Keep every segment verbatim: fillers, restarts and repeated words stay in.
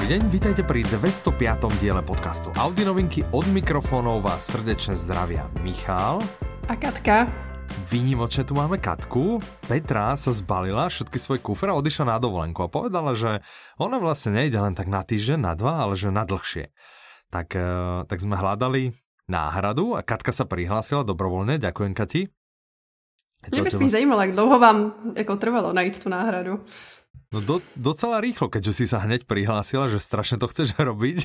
Dobrý deň, vítajte pri dvestopiatom diele podcastu Audi novinky. Od mikrofónov vás srdečne zdravia Michal a Katka. Výnimočne tu máme Katku. Petra sa zbalila všetky svoje kufre a odišla na dovolenku a povedala, že ona vlastne nejde len tak na týždeň, na dva, ale že na dlhšie. Tak, tak sme hľadali náhradu a Katka sa prihlásila dobrovoľne. Ďakujem, Kati. Mne by spíš zajímalo, jak dlouho vám jako trvalo najít tu náhradu. No do, docela rýchlo, keďže si sa hneď prihlásila, že strašne to chceš robiť.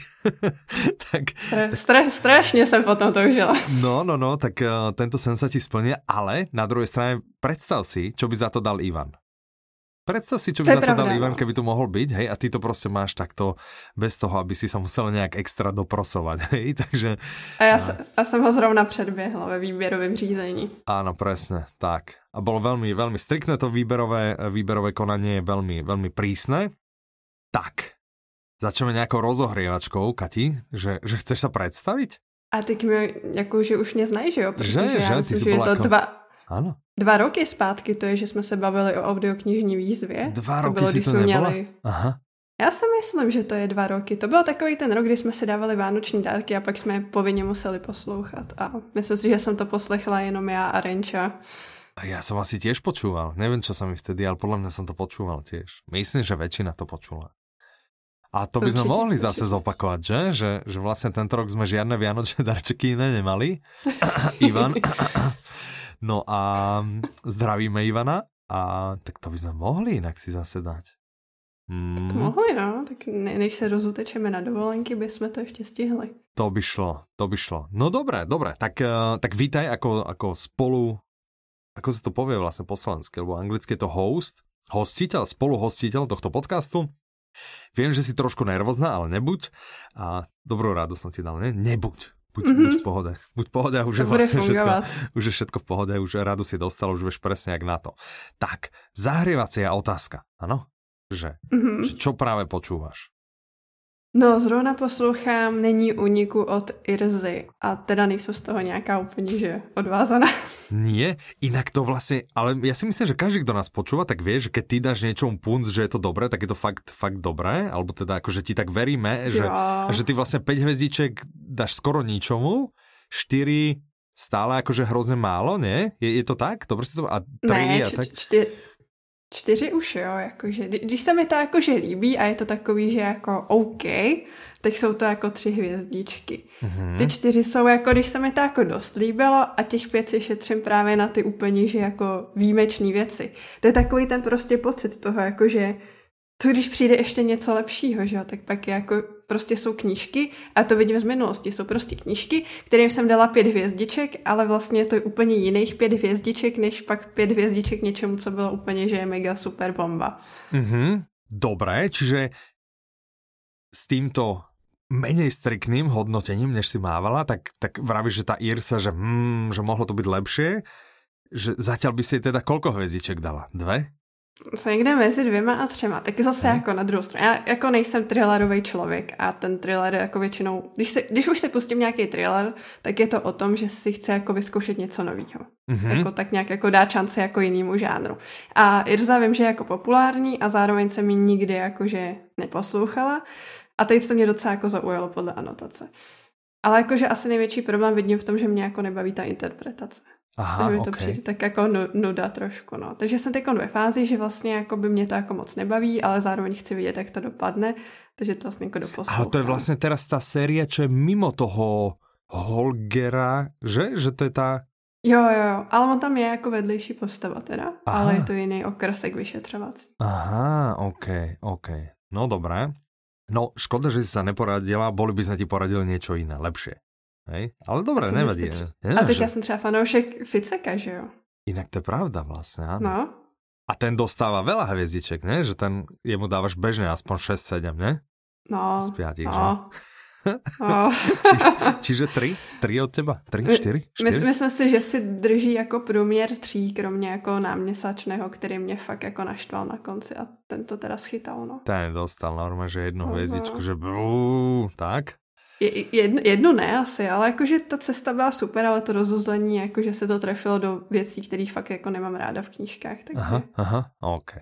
tak, Stra, stra, strašne som potom toužila. No, no, no, tak uh, tento sen sa ti splnia, ale na druhej strane predstav si, čo by za to dal Ivan. Predstav si, čo by to za to pravda, dal Ivan, keby tu mohol byť, hej, a ty to proste máš takto bez toho, aby si sa musel nejak extra doprosovať, hej, takže... A ja, a... Sa, ja som ho zrovna predbiehla ve výběrovém řízení. Áno, presne, tak. A bolo veľmi, veľmi striktné to výberové, výberové konanie, je veľmi, veľmi prísne. Tak, začneme nejakou rozohrievačkou, Kati, že, že chceš sa predstaviť? A ty mi, jako, že už mě znají, že jo? Protože že, já že, myslím, ty že je to ako... dva... Áno. Dva roky zpátky to je, že jsme se bavili o audioknižní výzvě. Dva to roky bylo, si to nebola? Měli... Aha. Já si myslím, že to je dva roky. To byl takový ten rok, kdy jsme si dávali vánoční dárky a pak jsme je povinně museli poslouchat. A myslím si, že jsem to poslechla jenom já a Renča. A ja som asi tiež počúval. Neviem, čo sa mi vtedy, ale podľa mňa som to počúval tiež. Myslím, že väčšina to počula. A to by sme určite, mohli určite. Zase zopakovať, že? že? Že vlastne tento rok sme žiadne vianočné darčeky iné nemali. Ivan... No a zdravíme Ivana a tak to by sme mohli inak si zase dať. Mm. Tak mohli, no. Tak ne, než se rozutečeme na dovolenky, by sme to ešte stihli. To by šlo, to by šlo. No dobre, dobre. Tak, tak vítaj ako, ako spolu, ako sa to povie vlastne po slovensky, lebo anglicky je to host, hostiteľ, spoluhostiteľ tohto podcastu. Viem, že si trošku nervózna, ale nebuď. A dobrú rádu som ti dal, ne? Nebuď. Buď, mm-hmm. buď v pohode. Buď v pohode a už je vlastne všetko, už je všetko v pohode, už radu si dostal, už vieš presne jak na to. Tak, zahrievacia otázka, áno? Že, mm-hmm. že čo práve počúvaš? No, zrovna poslouchám Není úniku od Irzy a teda nejsem z toho nějaká úplně, že odvázaná. Nie, inak to vlastne, ale ja si myslím, že každý, kto nás počúva, tak vie, že keď ty dáš niečomu punc, že je to dobré, tak je to fakt, fakt dobré, alebo teda akože ti tak veríme, že, že ty vlastne päť hviezdiček dáš skoro ničomu, štyri stále akože hrozne málo, nie? Je, je to tak? Dobre si to... A tri ne, a tak? Čtyři, čtyři už jo, jakože, když se mi to jakože líbí a je to takový, že jako OK, tak jsou to jako tři hvězdičky. Mm-hmm. Ty čtyři jsou jako, když se mi to jako dost líbilo a těch pět si šetřím právě na ty úplně, že jako výjimečný věci. To je takový ten prostě pocit toho, jakože to, když přijde ještě něco lepšího, že jo, tak pak je jako, prostě jsou knížky, a to vidím z minulosti, jsou prostě knížky, kterým jsem dala pět hvězdiček, ale vlastně to je úplně jiných pět hvězdiček, než pak pět hvězdiček něčemu, co bylo úplně, že je mega super bomba. Mm-hmm. Dobré, čiže s týmto menej striktným hodnotením, než si mávala, tak, tak vravíš, že tá Irsa, že, hmm, že mohlo to byť lepšie, že zatiaľ by si teda koľko hvězdiček dala? Dve? Jsou někde mezi dvěma a třema, taky zase hmm. jako na druhou stranu. Já jako nejsem thrillerový člověk a ten thriller jako většinou, když, si, když už si pustím nějaký thriller, tak je to o tom, že si chce jako vyzkoušet něco nového. Mm-hmm. Jako tak nějak jako dát šanci jako jinému žánru. A Irza vím, že je jako populární a zároveň jsem ji nikdy jakože neposlouchala a teď to mě docela jako zaujalo podle anotace. Ale jakože asi největší problém vidím v tom, že mě jako nebaví ta interpretace. Aha, mi to okay. přijde tak jako nuda trošku, no. Takže jsem teď ve fázi, že vlastně jako by mě to jako moc nebaví, ale zároveň chci vidět, jak to dopadne, takže to vlastně jako doposlouchám. Ale to je vlastně teraz ta série, čo je mimo toho Holgera, že? Že to je ta... Jo, jo, jo, ale on tam je jako vedlejší postava teda, aha. Ale je to jiný okrsek vyšetřovací. Aha, ok, ok. No dobré. No škoda, že si sa neporadila, boli by sme ti poradili niečo iné, lepšie. Hej? Ale dobré, nevadí. A teď já jsem třeba fanoušek Ficeka, že jo? Inak to je pravda vlastne, áno. No. A ten dostáva veľa hviezdiček, ne? Že ten, jemu dávaš bežne aspoň šesť sedem, ne? No. Z piatich, no. že? No. Či, čiže tri? Tri od teba? Tri? Čtyři? My, myslím si, že si drží jako průměr tří, kromě jako náměsačného, který mě fakt jako naštval na konci a ten to teda schytal, no. Ten dostal normálně, že jednu hvězdičku, že bú, tak? Jednu, jednu ne asi, ale jakože ta cesta byla super, ale to rozuzlení, jakože se to trefilo do věcí, které fakt jako nemám ráda v knížkách. Takže... Aha, aha, ok.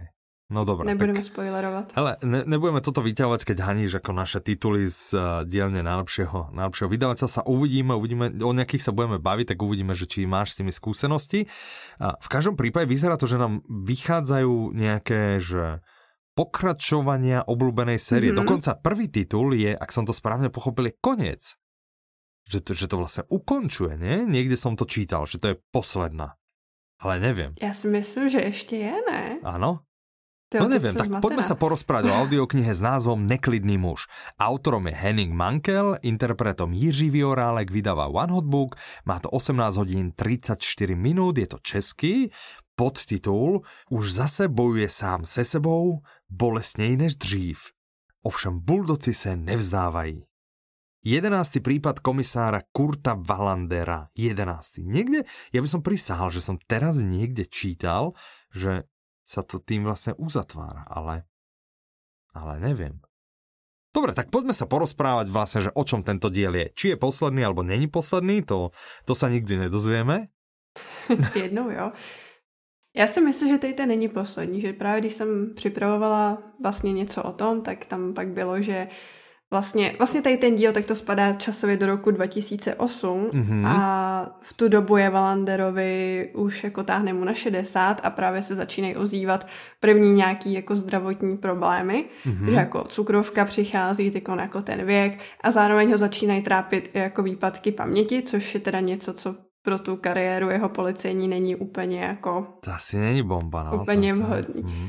No dobré. Nebudeme tak, spoilerovat. Hele, ne, nebudeme toto vyťahovať, keď haníš ako naše tituly z uh, dielne najlepšieho, najlepšieho vydavateľa. Sa uvidíme, uvidíme, o nejakých sa budeme baviť, tak uvidíme, že či máš s tými skúsenosti. Uh, v každom prípade vyzerá to, že nám vychádzajú nejaké, že pokračovania obľúbenej série. Mm-hmm. Dokonca prvý titul je, ak som to správne pochopil, je koniec. Že to, že to vlastne ukončuje, nie? Niekde som to čítal, že to je posledná. Ale neviem. Ja si myslím, že ešte je, ne? Áno? Ty, no neviem, tak poďme sa porozprávať o audioknihe s názvom Neklidný muž. Autorom je Henning Mankell, interpretom Jiří Viorálek, vydáva One Hot Book, má to osemnásť hodín tridsaťštyri minút, je to český, podtitul Už zase bojuje sám se sebou, bolestněji než dřív. Ovšem buldoci se nevzdávají. Jedenásty prípad komisára Kurta Wallandera. Jedenásty. Niekde, ja by som prisahal, že som teraz niekde čítal, že sa to tým vlastne uzatvára, ale, ale neviem. Dobre, tak poďme sa porozprávať vlastne, že o čom tento diel je. Či je posledný, alebo není posledný, to, to sa nikdy nedozvieme. Jednou, jo. Já si myslím, že tady ten není poslední, že právě když jsem připravovala vlastně něco o tom, tak tam pak bylo, že Vlastně, vlastně tady ten díl, tak to spadá časově do roku dva tisíce osm mm-hmm. a v tu dobu je Wallanderovi už jako táhne mu na šedesát a právě se začínají ozývat první nějaký jako zdravotní problémy, mm-hmm. že jako cukrovka přichází tyko jako ten věk a zároveň ho začínají trápit i jako výpadky paměti, což je teda něco, co pro tu kariéru jeho policejní není úplně jako... To asi není bomba, no. Úplně to, to, vhodný. Mm-hmm.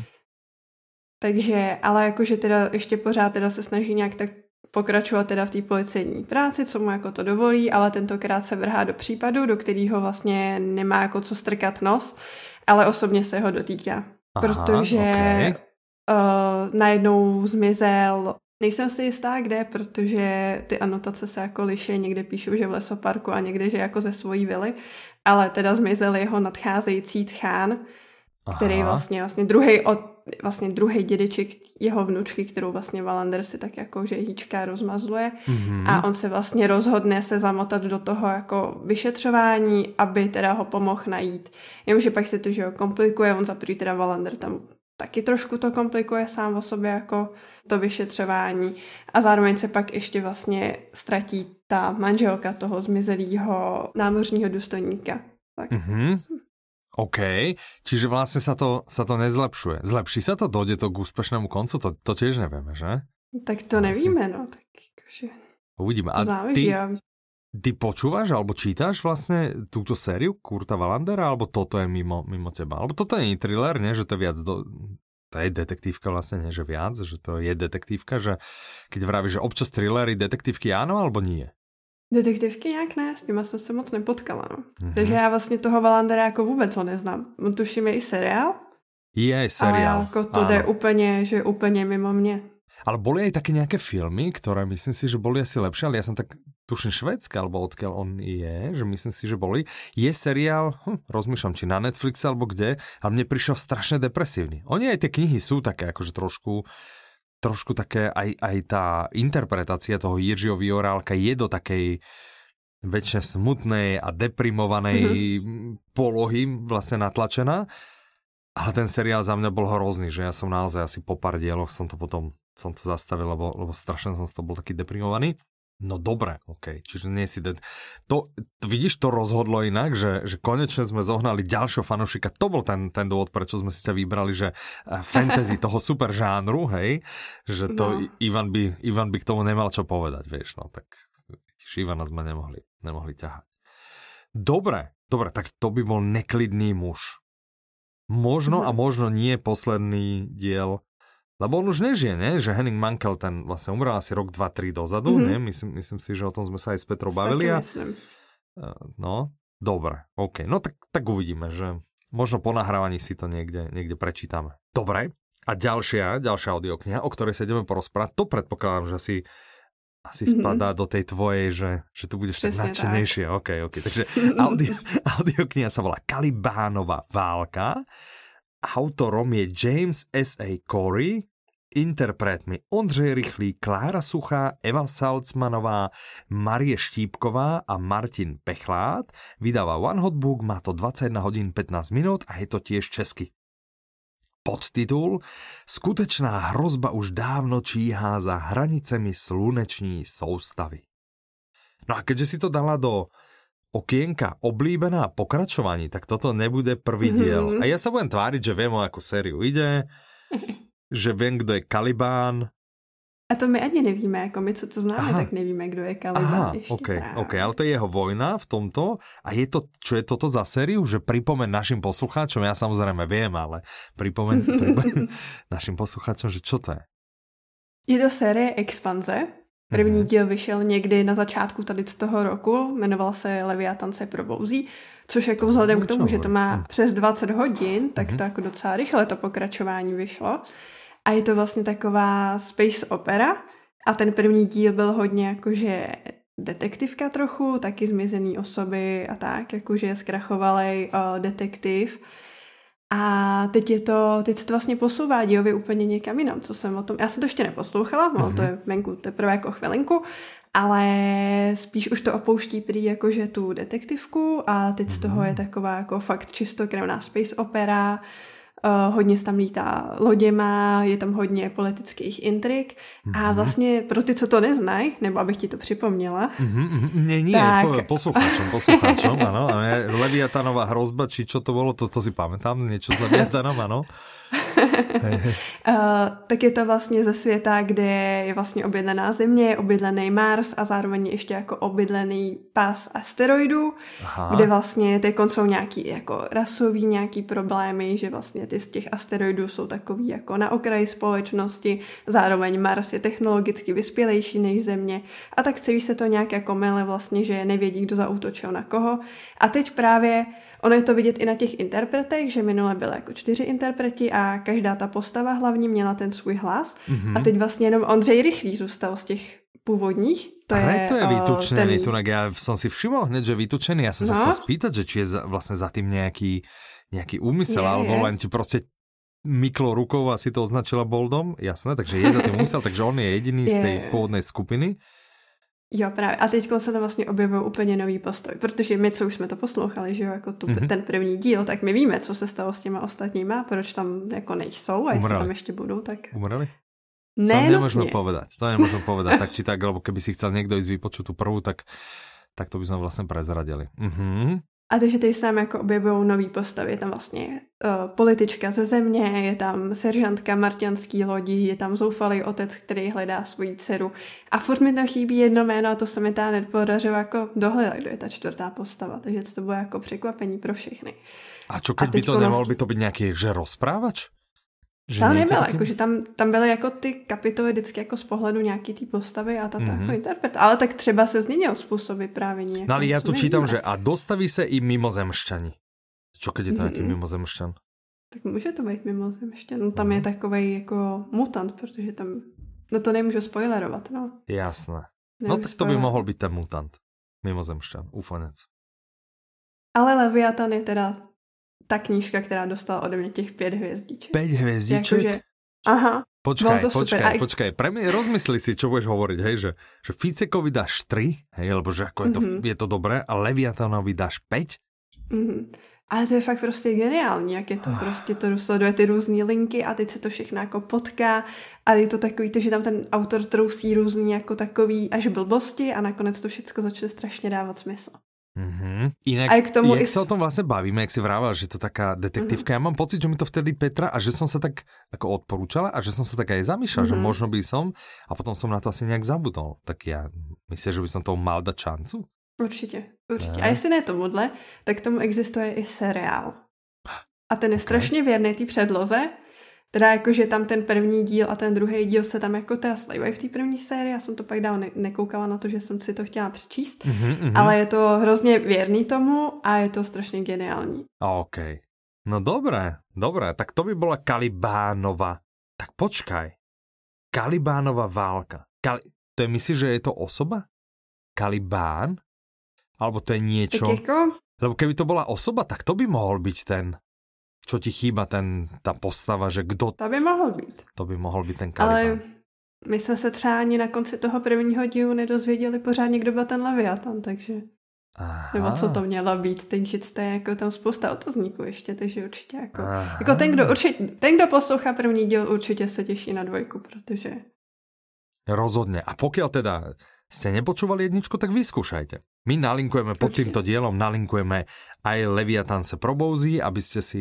Takže, ale jakože teda ještě pořád teda se snaží nějak tak pokračovat teda v té policejní práci, co mu jako to dovolí, ale tentokrát se vrhá do případu, do kterého vlastně nemá jako co strkat nos, ale osobně se ho dotýká. Aha, protože okay. uh, najednou zmizel, nejsem si jistá kde, protože ty anotace se jako liší, někde píšou, že v lesoparku a někde, že jako ze svojí vily, ale teda zmizel jeho nadcházející tchán, který vlastně, vlastně druhý od vlastně druhý dědeček jeho vnučky, kterou vlastně Wallander si tak jako že hýčká rozmazluje mm-hmm. a on se vlastně rozhodne se zamotat do toho jako vyšetřování, aby teda ho pomohl najít. Jenomže pak se to že ho komplikuje, on za prvý teda Wallander tam taky trošku to komplikuje sám o sobě jako to vyšetřování a zároveň se pak ještě vlastně ztratí ta manželka toho zmizelého námořního důstojníka. Tak mm-hmm. OK, čiže vlastne sa to, sa to nezlepšuje. Zlepší sa to? Dojde to k úspešnému koncu? To, to tiež nevieme, že? Tak to nevíme, no. Tak akože... Uvidíme. A záleží, ty, ja... ty počúvaš alebo čítaš vlastne túto sériu Kurta Wallandera, alebo toto je mimo, mimo teba? Alebo toto nie je thriller, nie? Že to je viac do... To je detektívka vlastne, nie? Že viac? Že to je detektívka, že keď vravíš, že občas thrillery, detektívky áno, alebo nie? Detektivky nějak ne, s nima jsem se moc nepotkala, no. Mm-hmm. Takže já vlastně toho Wallandera jako vůbec ho neznám. On tuším je i seriál. Je aj seriál. Ale jako to áno. Jde úplně, že úplně mimo mě. Ale boli aj také nejaké filmy, ktoré myslím si, že boli asi lepšie, ale ja som tak tuším švédske, alebo odkiaľ on je, že myslím si, že boli. Je seriál, hm, rozmýšľam, či na Netflixe alebo kde, ale mne prišiel strašne depresívny. Oni aj tie knihy sú také akože trošku trošku také, aj, aj tá interpretácia toho Jiřího Viorálka je do takej väčšine smutnej a deprimovanej mm-hmm. polohy vlastne natlačená, ale ten seriál za mňa bol hrozný, že ja som naozaj asi po pár dieloch som to potom som to zastavil, lebo, lebo strašne som z toho bol taký deprimovaný. No dobre, okej, okay. Čiže nie si... De- to, to, vidíš, to rozhodlo inak, že, že konečne sme zohnali ďalšieho fanúšika. To bol ten, ten dôvod, prečo sme si ťa vybrali, že fantasy toho super žánru, hej, že to no. Ivan, by, Ivan by k tomu nemal čo povedať, vieš, no tak vidíš, Ivana sme nemohli, nemohli ťahať. Dobre, dobre, tak to by bol Neklidný muž. Možno a možno nie posledný diel. Lebo on už nežije, ne? Že Henning Mankell ten vlastne umrel asi rok, dva, tri dozadu, mm-hmm. ne? Myslím, myslím si, že o tom sme sa aj s Petrou bavili. A... No, dobre, OK. No tak, tak uvidíme, že možno po nahrávaní si to niekde, niekde prečítame. Dobre. A ďalšia, ďalšia audiokniha, o ktorej sa ideme porozprávať, to predpokladám, že asi, asi mm-hmm. spadá do tej tvojej, že, že tu budeš tak nadšenejšie. OK, OK. Takže audio, audiokniha sa volá Kalibánova válka. Autorom je James S A. Corey, interpretmi Ondřej Rychlý, Klára Suchá, Eva Salcmanová, Marie Štípková a Martin Pechlát. Vydáva One Hot Book, má to dvadsaťjeden hodín pätnásť minút a je to tiež česky. podtitul Skutečná hrozba už dávno číhá za hranicemi sluneční soustavy. No a keďže si to dala do okienka oblíbená pokračovaní, tak toto nebude prvý diel. Mm-hmm. A ja sa budem tváriť, že viem, o akú sériu ide, že viem, kdo je Kalibán. A to my ani nevíme, jako my, co to známe, Aha. tak nevíme, kdo je Kalibán. Aha, ještě okay, okay, ale to je jeho vojna v tomto. A je to, čo je toto za sériu? Že pripomeň našim poslucháčom, ja samozrejme viem, ale pripomeň, pripomeň našim poslucháčom, že čo to je? Je to série Expanze. První díl vyšel někdy na začátku tady z toho roku, jmenoval se Leviatan se probouzí, což jako vzhledem k tomu, že to má přes dvacet hodin, tak to jako docela rychle to pokračování vyšlo. A je to vlastně taková space opera a ten první díl byl hodně jakože detektivka trochu, taky zmizený osoby a tak, jakože zkrachovalej uh, detektiv. A teď je to, teď se to vlastně posouvá dějově úplně někam jinam, co jsem o tom, já jsem to ještě neposlouchala, no, mm-hmm. to je venku teprve jako chvilinku, ale spíš už to opouští prý jakože tu detektivku a teď z toho je taková jako fakt čistokrevná space opera, uh, hodně se tam lítá loděma, je tam hodně politických intrik mm-hmm. a vlastně pro ty, co to neznají, nebo abych ti to připomněla. Mm-hmm. Nie, nie, tak... poslucháčom, poslucháčom, ano, Leviatanová hrozba, či čo to bolo, to, to si pamätám, niečo s Leviatanom, ano. Uh, tak je to vlastně ze světa, kde je vlastně obydlená Země, obydlený Mars a zároveň ještě jako obydlený pás asteroidů, Aha. kde vlastně teď jsou nějaký jako rasový nějaký problémy, že vlastně ty z těch asteroidů jsou takový jako na okraji společnosti, zároveň Mars je technologicky vyspělejší než Země a tak celý se to nějak jako mele vlastně, že nevědí, kdo zaútočil na koho. A teď právě ono je to vidět i na těch interpretech, že minule byly jako čtyři interpreti a každá ta postava hlavně měla ten svůj hlas. Mm-hmm. A teď vlastně jenom Ondřej Rychlý zůstal z těch původních. To je, to je vytučený, ten... ja som si všimol hneď, že vytučený. Ja som no. sa chcel spýtať, že či je za, vlastne za tým nejaký, nejaký úmysel, je, alebo je. len ti proste myklo rukou a si to označila boldom. Jasné, takže je za tým úmysel, takže on je jediný je. z tej pôvodnej skupiny. Jo, právě. A teď se tam vlastně objevují úplně nový postavy, protože my, co už jsme to poslouchali, že jo, jako tu, mm-hmm. ten první díl, tak my víme, co se stalo s těma ostatníma, proč tam jako nejsou a jestli tam ještě budou, tak... Umreli? Ne, to nemôžeme povedať, to nemôžeme povedať, tak či tak, lebo keby si chcel niekto ísť vypočuť tú prvú, tak, tak to by sme vlastne prezradili. Mhm. A takže tady se tam jako objevují nový postavy, je tam vlastně uh, politička ze Země, je tam seržantka marťanský lodi, je tam zoufalý otec, který hledá svoji dceru. A furt mi tam chybí jedno jméno a to se mi tá nepodařilo jako dohledat, kdo je ta čtvrtá postava, takže to bude jako překvapení pro všechny. A čo keď a by to nemohol by to být nějaký, že rozprávač? Že tam nebyla, taky... jakože tam, tam byly jako ty kapitoly vždycky jako z pohledu nějaký té postavy a tato mm-hmm. jako interpret. Ale tak třeba se změnil způsob vyprávění. No ale já tu čítam, že a dostaví se i mimozemšťani. Čo keď je to mm-hmm. nějaký mimozemšťan? Tak může to být mimozemšťan. No tam mm-hmm. je takovej jako mutant, protože tam, no to nemůžu spoilerovat, no. Jasné. Nevím, no tak to by mohl být ten mutant. Mimozemšťan, úfanec. Ale Leviatan je teda ta knížka, která dostala ode mě těch pět hvězdiček. Pět hvězdiček? Jakože, aha. Počkaj, počkaj, super. počkaj. Pre mňa rozmysli si, čo budeš hovoriť, hej, že, že Ficekovi dáš tri, hej, lebo že ako je to, mm-hmm. je to dobré, a Leviatanovi dáš päť? Mm-hmm. Ale to je fakt prostě geniální, jak je to oh. prostě, to sleduje ty různý linky a teď se to všechno jako potká a je to takový to, že tam ten autor trousí různý jako takový až blbosti a nakonec to všechno začne strašně dávat smysl. Mm-hmm. Inak, jak is... sa o tom vlastne bavíme, jak si vrával, že to taká detektívka, mm-hmm. ja mám pocit, že mi to vtedy Petra a že som sa tak ako odporúčala a že som sa tak aj zamýšľal, mm-hmm. že možno by som a potom som na to asi nejak zabudol. Tak ja myslím, že by som tomu mal dať šancu? Určitě, určitě. Ne. A jestli ne tomuhle, tak tomu existuje i seriál. A ten je okay. strašně věrný té předloze. Teda jakože tam ten první díl a ten druhý díl se tam jako teda slejvají v té první sérii. Já jsem to pak dál ne- nekoukala na to, že jsem si to chtěla přečíst. Mm-hmm. Ale je to hrozně věrný tomu a je to strašně geniální. OK. No dobré, dobré. Tak to by bola Kalibánova. Tak počkaj. Kalibánova válka. Kali- to je, myslíš, že je to osoba? Kalibán? Alebo to je niečo? Tak jako... Lebo keby to bola osoba, tak to by mohol byť ten... Čo ti chýba, ten, ta postava, že kdo... To by mohl být. To by mohl být ten Kalibán. Ale my jsme se třeba ani na konci toho prvního dílu nedozvěděli pořádně, kdo byl ten Leviatan, takže... Aha. Nebo co to mělo být, takže to je jako tam spousta otazníků ještě, takže určitě jako, jako ten, kdo určitě, ten, kdo poslouchá první díl, určitě se těší na dvojku, protože... Rozhodne. A pokiaľ teda ste nepočúvali jedničku, tak vyskúšajte. My nalinkujeme pod určite. Týmto dielom, nalinkujeme aj Leviatán se probouzí, aby ste si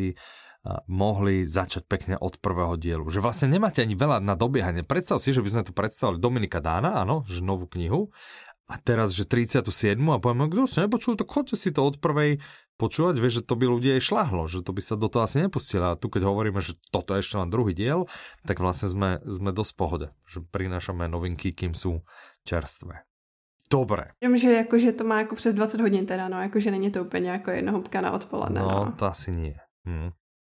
mohli začať pekne od prvého dielu. Že vlastne nemáte ani veľa na dobiehanie. Predstav si, že by sme tu predstavili Dominika Dána, áno, že novú knihu, a teraz, že tridsiatu siedmu a povieme, kto si nepočul, tak chodte si to od prvej počúvať, vieš, že to by ľudia aj šľahlo, že to by sa do toho asi nepustilo. A tu, keď hovoríme, že toto je ešte len druhý diel, tak vlastne sme, sme dosť v pohode, že prinášame novinky, kým sú čerstvé. Dobre. Vím, že jakože to má jako přes dvacet hodin teda, no, jakože není to úplně jako jednohubka na odpoledne. No, no. to asi nie. Hm.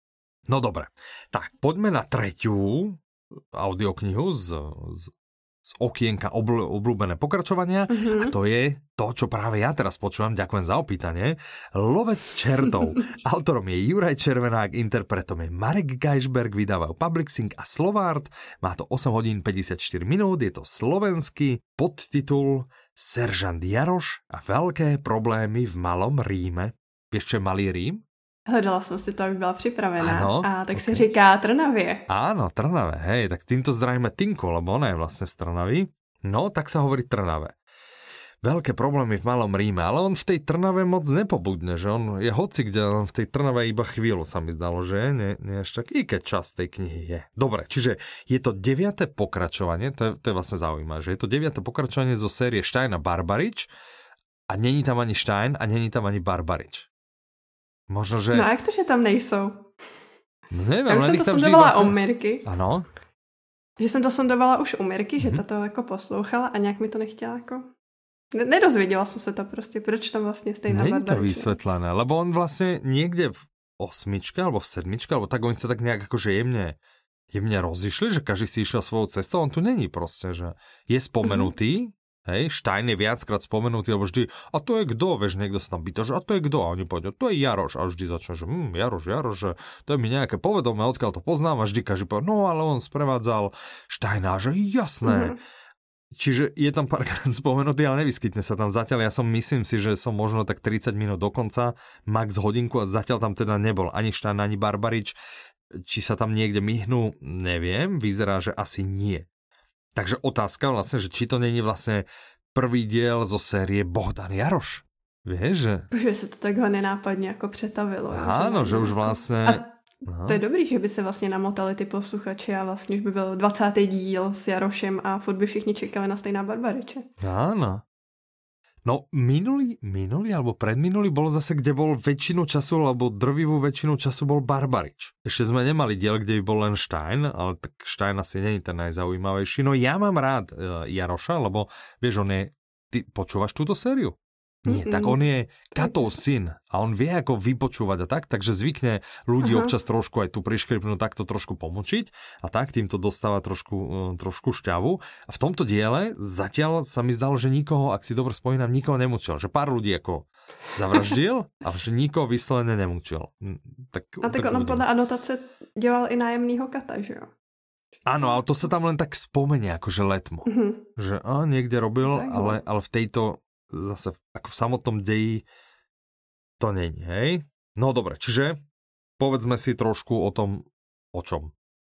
No dobre. Tak, poďme na tretiu audioknihu z, z z okienka obl- obľúbené pokračovania mm-hmm. a to je to, čo práve ja teraz počúvam, ďakujem za opýtanie. Lovec čertov. Autorom je Juraj Červenák, interpretom je Marek Geisberg, vydávajú Publixing a Slovart. Má to osem hodín päťdesiatštyri minút, je to slovenský podtitul Seržant Jaroš a veľké problémy v malom Ríme. Vieš, čo je malý Rím? Hledala jsem si to, aby byla připravená. Ano, a tak okay. se říká Trnavě. Áno, Trnave, hej, tak týmto zdravíme Tinku, lebo ona je vlastne z Trnavy. No, tak sa hovorí Trnave. Veľké problémy v malom Ríme, ale on v tej Trnave moc nepobudne, že on je hoci kde, on v tej Trnave iba chvíľu sa mi zdalo, že nie, nie až tak, i keď čas tej knihy je. Dobre, čiže je to deviate pokračovanie, to je, to je vlastne zaujímavé, že je to deviate pokračovanie zo série Stein a Barbarič a není tam ani Stein a není tam ani Barbarič. Možno, že... No a jak to, že tam nejsou? No nevím, já už jsem to sondovala vlastně... u Mirky. Ano. Že jsem to sondovala už u Mirky, mm-hmm. že ta to jako poslouchala a nějak mi to nechtěla jako... Nedozvěděla jsem se to prostě, proč tam vlastně stejná Barbarič. Není to vysvetlené, lebo on vlastně někde v osmičke alebo v sedmičke, alebo tak oni sa tak nejak akože jemne, jemne rozišli, že každý si išiel svojou cestou, on tu není proste, že je spomenutý, mm-hmm. hej, Stein je viackrát spomenutý, lebo vždy, a to je kdo, vieš, niekto sa tam pýta, že a to je kdo, a oni povedia, to je Jaroš, a vždy začne, že hm, Jaroš, Jaroš, že to je mi nejaké povedomé, odkiaľ to poznám, a vždy každý povie, no ale on sprevádzal Steina, že jasné. Mm-hmm. Čiže je tam párkrát spomenutý, ale nevyskytne sa tam zatiaľ. Ja som myslím si, že som možno tak tridsať minút do konca, max hodinku a zatiaľ tam teda nebol ani Stein, ani Barbarič. Či sa tam niekde myhnú, neviem. Vyzerá, že asi nie. Takže otázka vlastne, že či to není vlastne prvý diel zo série Bohdan Jaroš. Vieš, že... Že sa to takhle nenápadne ako přetavilo. Áno, že, že už vlastne... A... Aha. To je dobrý, že by se vlastně namotali ty posluchači a vlastně už by byl dvacátý díl s Jarošem a furt by všichni čekali na stejná Barbariče. Áno. No minulý, minulý alebo predminulý bol zase, kde bol väčšinu času, alebo drvivú väčšinu času bol Barbarič. Ešte sme nemali diel, kde by bol len Stein, ale tak Stein asi nie je ten najzaujímavejší. No ja mám rád uh, Jaroša, lebo vieš, on je... Ty počúvaš túto sériu? Nie, Mm-mm. tak on je Katov syn a on vie ako vypočúvať a tak, takže zvykne ľudí Aha. občas trošku aj tu priškripnúť, takto trošku pomočiť a tak týmto dostáva trošku, trošku šťavu. A v tomto diele zatiaľ sa mi zdalo, že nikoho, ak si dobre spomínam, nikoho nemučil. Že pár ľudí ako zavraždil, ale že nikoho vyslovene nemučil. Tak, a tak, tak on podľa anotace dělal i nájemnýho kata, že jo? Áno, ale to sa tam len tak spomenie, akože letmo. Mm-hmm. Že á, niekde robil, ale, ale v tejto zase ako v samotnom deji to není, hej? No dobre, čiže povedzme si trošku o tom, o čom.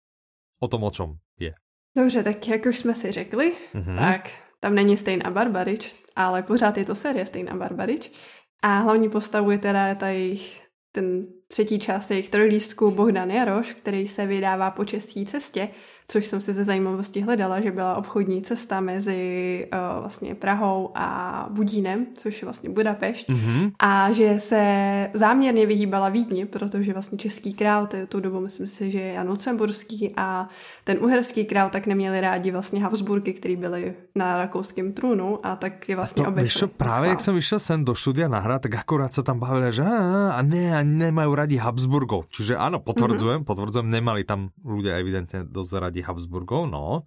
O tom, o čom je. Dobře, tak jak už jsme si řekli, mm-hmm. tak tam není Stejná Barbarič, ale pořád je to série Stejná Barbarič a hlavní postavu je teda tady ten třetí část jejich trojlístku Bohdan Jaroš, který se vydává po české cestě, což jsem si ze zajímavosti hledala, že byla obchodní cesta mezi uh, vlastně Prahou a Budínem, což je vlastně Budapešť, mm-hmm. a že se záměrně vyhýbala Vídni, protože vlastně český král, tu dobu myslím si, že je Jan Lucemburský a ten uherský král tak neměli rádi vlastně Habsburky, který byli na rakouském trůnu a tak je vlastně obešli. Právě jak jsem vyšel sem do štúdia nahrát, tak akorát sa tam bavili, že a, a ne, a nemajú radi Habsburgov. Čiže áno, potvrdzujem, mm-hmm. potvrdzujem, nemali tam ľudia evidentne dosť radi Habsburgov, no.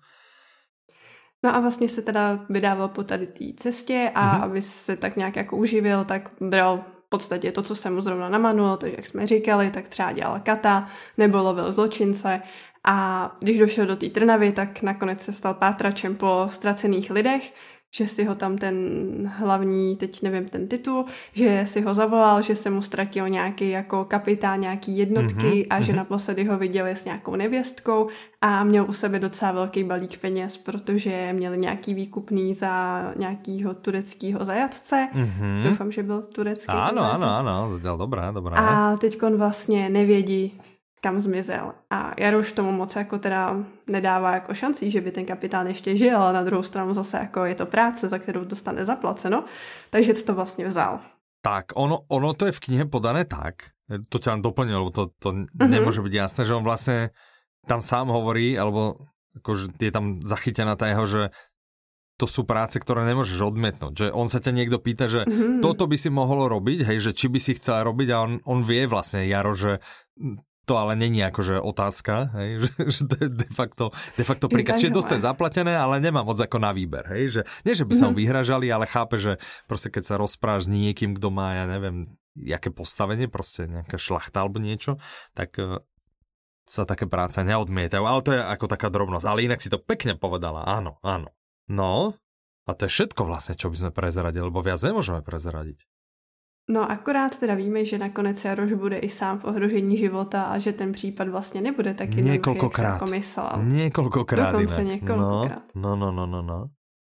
No a vlastně se teda vydával po tady té cestě a mm-hmm. aby se tak nějak jako uživil, tak bral v podstatě to, co se mu zrovna namanul, to, jak jsme říkali, tak třeba dělal kata nebo lovil zločince a když došel do té Trnavy, tak nakonec se stal pátračem po ztracených lidech, že si ho tam ten hlavní, teď nevím ten titul, že si ho zavolal, že se mu ztratil nějaký jako kapitán nějaký jednotky mm-hmm, a že mm-hmm. naposledy ho viděli s nějakou nevěstkou a měl u sebe docela velký balík peněz, protože měli nějaký výkupný za nějakýho tureckého zajatce. Mm-hmm. Doufám, že byl turecký. Áno, áno, áno, dobré, dobré. A teď on vlastně nevědí, kam zmizel. A Jaroš tomu moc jako teda nedává jako šancí, že by ten kapitán ještě žil, ale na druhou stranu zase jako je to práce, za kterou dostane zaplaceno, takže to vlastně vzal. Tak, ono, ono to je v knihe podané tak, to ťa doplnil, lebo to, to mm-hmm. nemôže byť jasné, že on vlastne tam sám hovorí, alebo akože je tam zachytená tá jeho, že to sú práce, ktoré nemôžeš odmietnúť. Že on sa ťa niekto pýta, že mm-hmm. toto by si mohol robiť, hej, že či by si chcel robiť a on, on vie vlastne, Jaro, že to ale není akože otázka, hej, že, že to je de facto, de facto príkaz. Čiže dostať zaplatené, ale nemá moc ako na výber. Hej, že, nie, že by sa mu vyhražali, ale chápe, že proste keď sa rozpráš s niekým, kto má, ja neviem, jaké postavenie, proste nejaká šlachta alebo niečo, tak uh, sa také práce neodmietajú. Ale to je ako taká drobnosť. Ale inak si to pekne povedala. Áno, áno. No, a to je všetko vlastne, čo by sme prezradili, lebo viac nemôžeme prezradiť. No akorát teda víme, že nakonec Jaroš bude i sám v ohrožení života a že ten případ vlastně nebude tak jednoduchý, jak se jako myslel. Niekoľkokrát. Dokonce niekoľkokrát. No, no, no, no, no.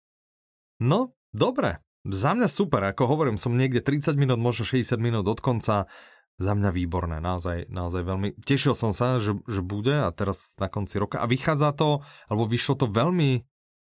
No, dobre. Za mňa super, ako hovorím, som niekde tridsať minút, možno šesťdesiat minút od konca. Za mňa výborné, naozaj, naozaj veľmi. Tešil som sa, že, že bude a teraz na konci roka. A vychádza to, alebo vyšlo to veľmi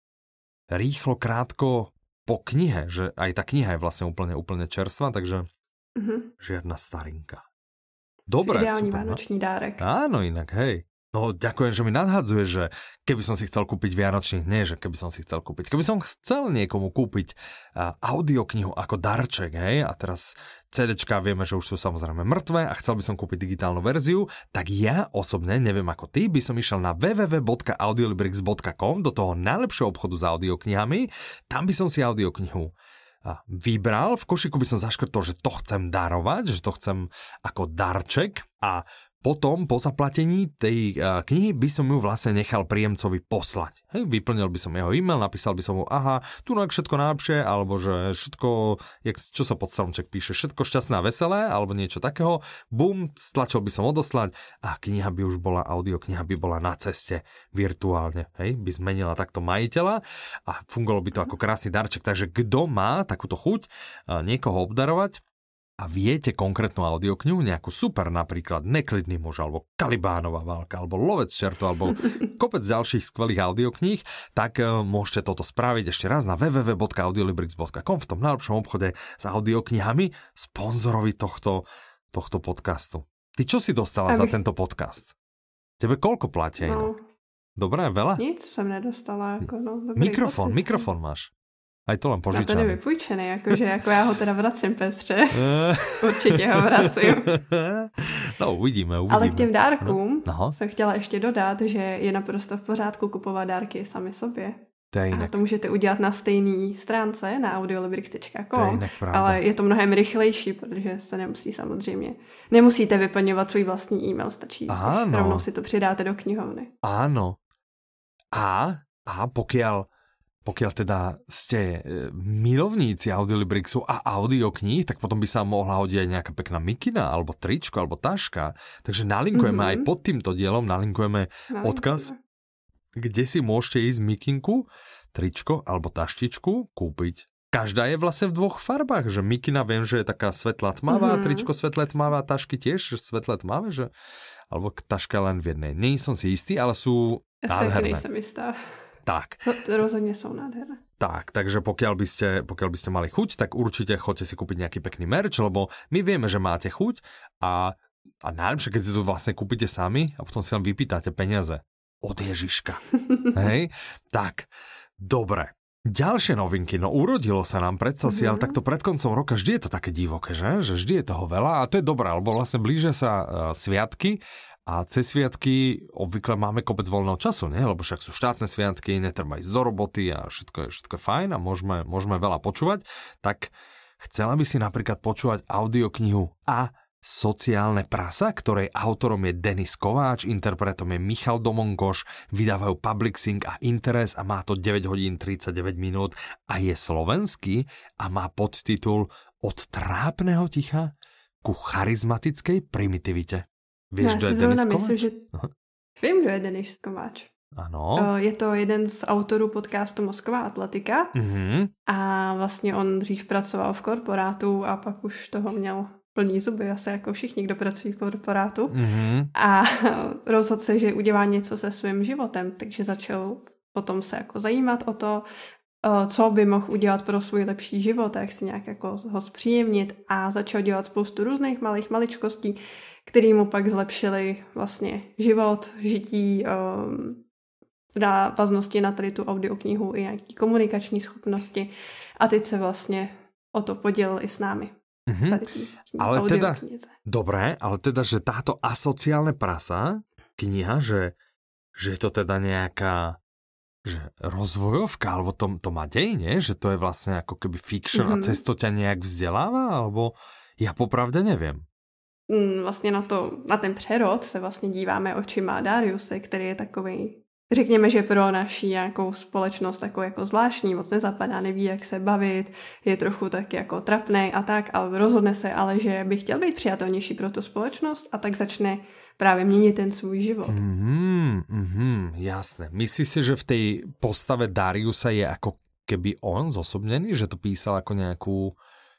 rýchlo, krátko po knihe, že aj tá kniha je vlastne úplne, úplne čerstvá, takže mm-hmm. žiadna starinka. Dobre, ideálny super. Vánočný dárek. Áno, inak, hej. No, ďakujem, že mi nadhadzuje, že keby som si chcel kúpiť vianočný, nie, že keby som si chcel kúpiť, keby som chcel niekomu kúpiť uh, audioknihu ako darček, hej, a teraz CDčka vieme, že už sú samozrejme mŕtve a chcel by som kúpiť digitálnu verziu, tak ja osobne, neviem ako ty, by som išiel na w w w bodka audiolibrix bodka com do toho najlepšieho obchodu s audioknihami, tam by som si audioknihu vybral, v košiku by som zaškrtol, že to chcem darovať, že to chcem ako darček a potom, po zaplatení tej uh, knihy by som ju vlastne nechal príjemcovi poslať. Hej, vyplnil by som jeho e-mail, napísal by som mu, aha, tu no všetko najlepšie, alebo že všetko, jak, čo sa pod stromček píše, všetko šťastné a veselé, alebo niečo takého. Bum, stlačil by som odoslať a kniha by už bola, audiokniha by bola na ceste virtuálne. Hej, by zmenila takto majiteľa a fungovalo by to ako krásny darček. Takže kto má takúto chuť uh, niekoho obdarovať, a viete konkrétnu audioknihu, nejakú super, napríklad Neklidný muž, alebo Kalibánova válka, alebo Lovec čertov, alebo kopec ďalších skvelých audiokníh, tak uh, môžete toto spraviť ešte raz na w w w bodka audiolibrix bodka com v tom najlepšom obchode s audioknihami, sponzorovi tohto, tohto podcastu. Ty čo si dostala Aby... za tento podcast? Tebe koľko platia? No. Dobré, veľa? Nic som nedostala. Ako, no, mikrofón, pocit. Mikrofón máš. Aj to len požičané. No to nevypůjčený, jakože jako já ho teda vracím, Petře. Určitě ho vracím. No uvidíme, uvidíme. Ale k těm dárkům no. jsem chtěla ještě dodat, že je naprosto v pořádku kupovat dárky sami sobě. To je a to můžete udělat na stejné stránce na audiolibrix tečka com, ale je to mnohem rychlejší, protože se nemusí samozřejmě, nemusíte vyplňovat svůj vlastní e-mail, stačí, když rovnou si to přidáte do knihovny. Áno. A, a pokiaľ pokiaľ teda ste milovníci Audiolibrixu a audiokníh, tak potom by sa mohla hodiť aj nejaká pekná mikina, alebo tričko, alebo taška. Takže nalinkujeme mm-hmm. aj pod týmto dielom, nalinkujeme Nalinkujeme. odkaz, kde si môžete ísť mikinku, tričko alebo taštičku kúpiť. Každá je vlastne v dvoch farbách, že mikina viem, že je taká svetlá tmavá, mm-hmm. tričko svetlé tmavá, tašky tiež svetlé tmavé, že... alebo taška len v jednej. Nie som si istý, ale sú nádherné. Ja sa istá. Tak. To, to rozhodne sú nádherné. Tak, takže pokiaľ by, ste, pokiaľ by ste mali chuť, tak určite choďte si kúpiť nejaký pekný merch, lebo my vieme, že máte chuť a, a najlepšie, keď si to vlastne kúpite sami a potom si len vypýtate peniaze od Ježiška. Hej? Tak, dobre. Ďalšie novinky, no urodilo sa nám, predstav si, mm-hmm. ale takto pred koncom roka vždy je to také divoké, že? Že vždy je toho veľa a to je dobré, lebo vlastne blížia sa uh, sviatky a cez sviatky obvykle máme kopec voľného času, nie? Lebo však sú štátne sviatky, netreba ísť do roboty a všetko je, všetko je fajn a môžeme, môžeme veľa počúvať, tak chcela by si napríklad počúvať audioknihu a Sociálne prasa, ktorej autorom je Denis Kováč, interpretom je Michal Domonkoš, vydávajú Public Sync a Interes a má to deväť hodín tridsaťdeväť minút a je slovenský a má podtitul Od trápneho ticha ku charizmatickej primitivite. Vieš, kto je Denis Kováč? Myslím, že... Vím, kdo je Denis Kováč. Ano. Je to jeden z autorů podcastu Mozková atletika mm-hmm. a vlastně on dřív pracoval v korporátu a pak už toho měl plný zuby, asi jako všichni, kdo pracují v korporátu mm-hmm. a rozhodl se, že udělá něco se svým životem, takže začal potom se jako zajímat o to, co by mohl udělat pro svůj lepší život, jak si nějak jako ho zpříjemnit a začal dělat spoustu různých malých maličkostí, který mu pak zlepšili vlastně život, žití, um, návaznosti na tady tu audioknihu i nějaký komunikační schopnosti a teď se vlastně o to podělil i s námi. Mm-hmm. Tady tý, ale teda, dobré, ale teda, že táto asociálne prasa, kniha, že, že je to teda nejaká že rozvojovka, alebo to, to má dej, nie? Že to je vlastne ako keby fiction mm-hmm. a cez to ťa nejak vzdeláva, alebo ja popravde neviem. Vlastně na, to, na ten přerod se vlastně díváme očima Dariuse, který je takovej, řekněme, že pro naši nějakou společnost takový jako zvláštní, moc nezapadá, neví, jak se bavit, je trochu tak jako trapnej a tak, ale rozhodne se ale, že by chtěl být přijatelnější pro tu společnost a tak začne právě měnit ten svůj život. Mm, mm, jasné. Myslíš si, že v tej postave Dariusa je ako keby on zosobnený, že to písal ako nejakú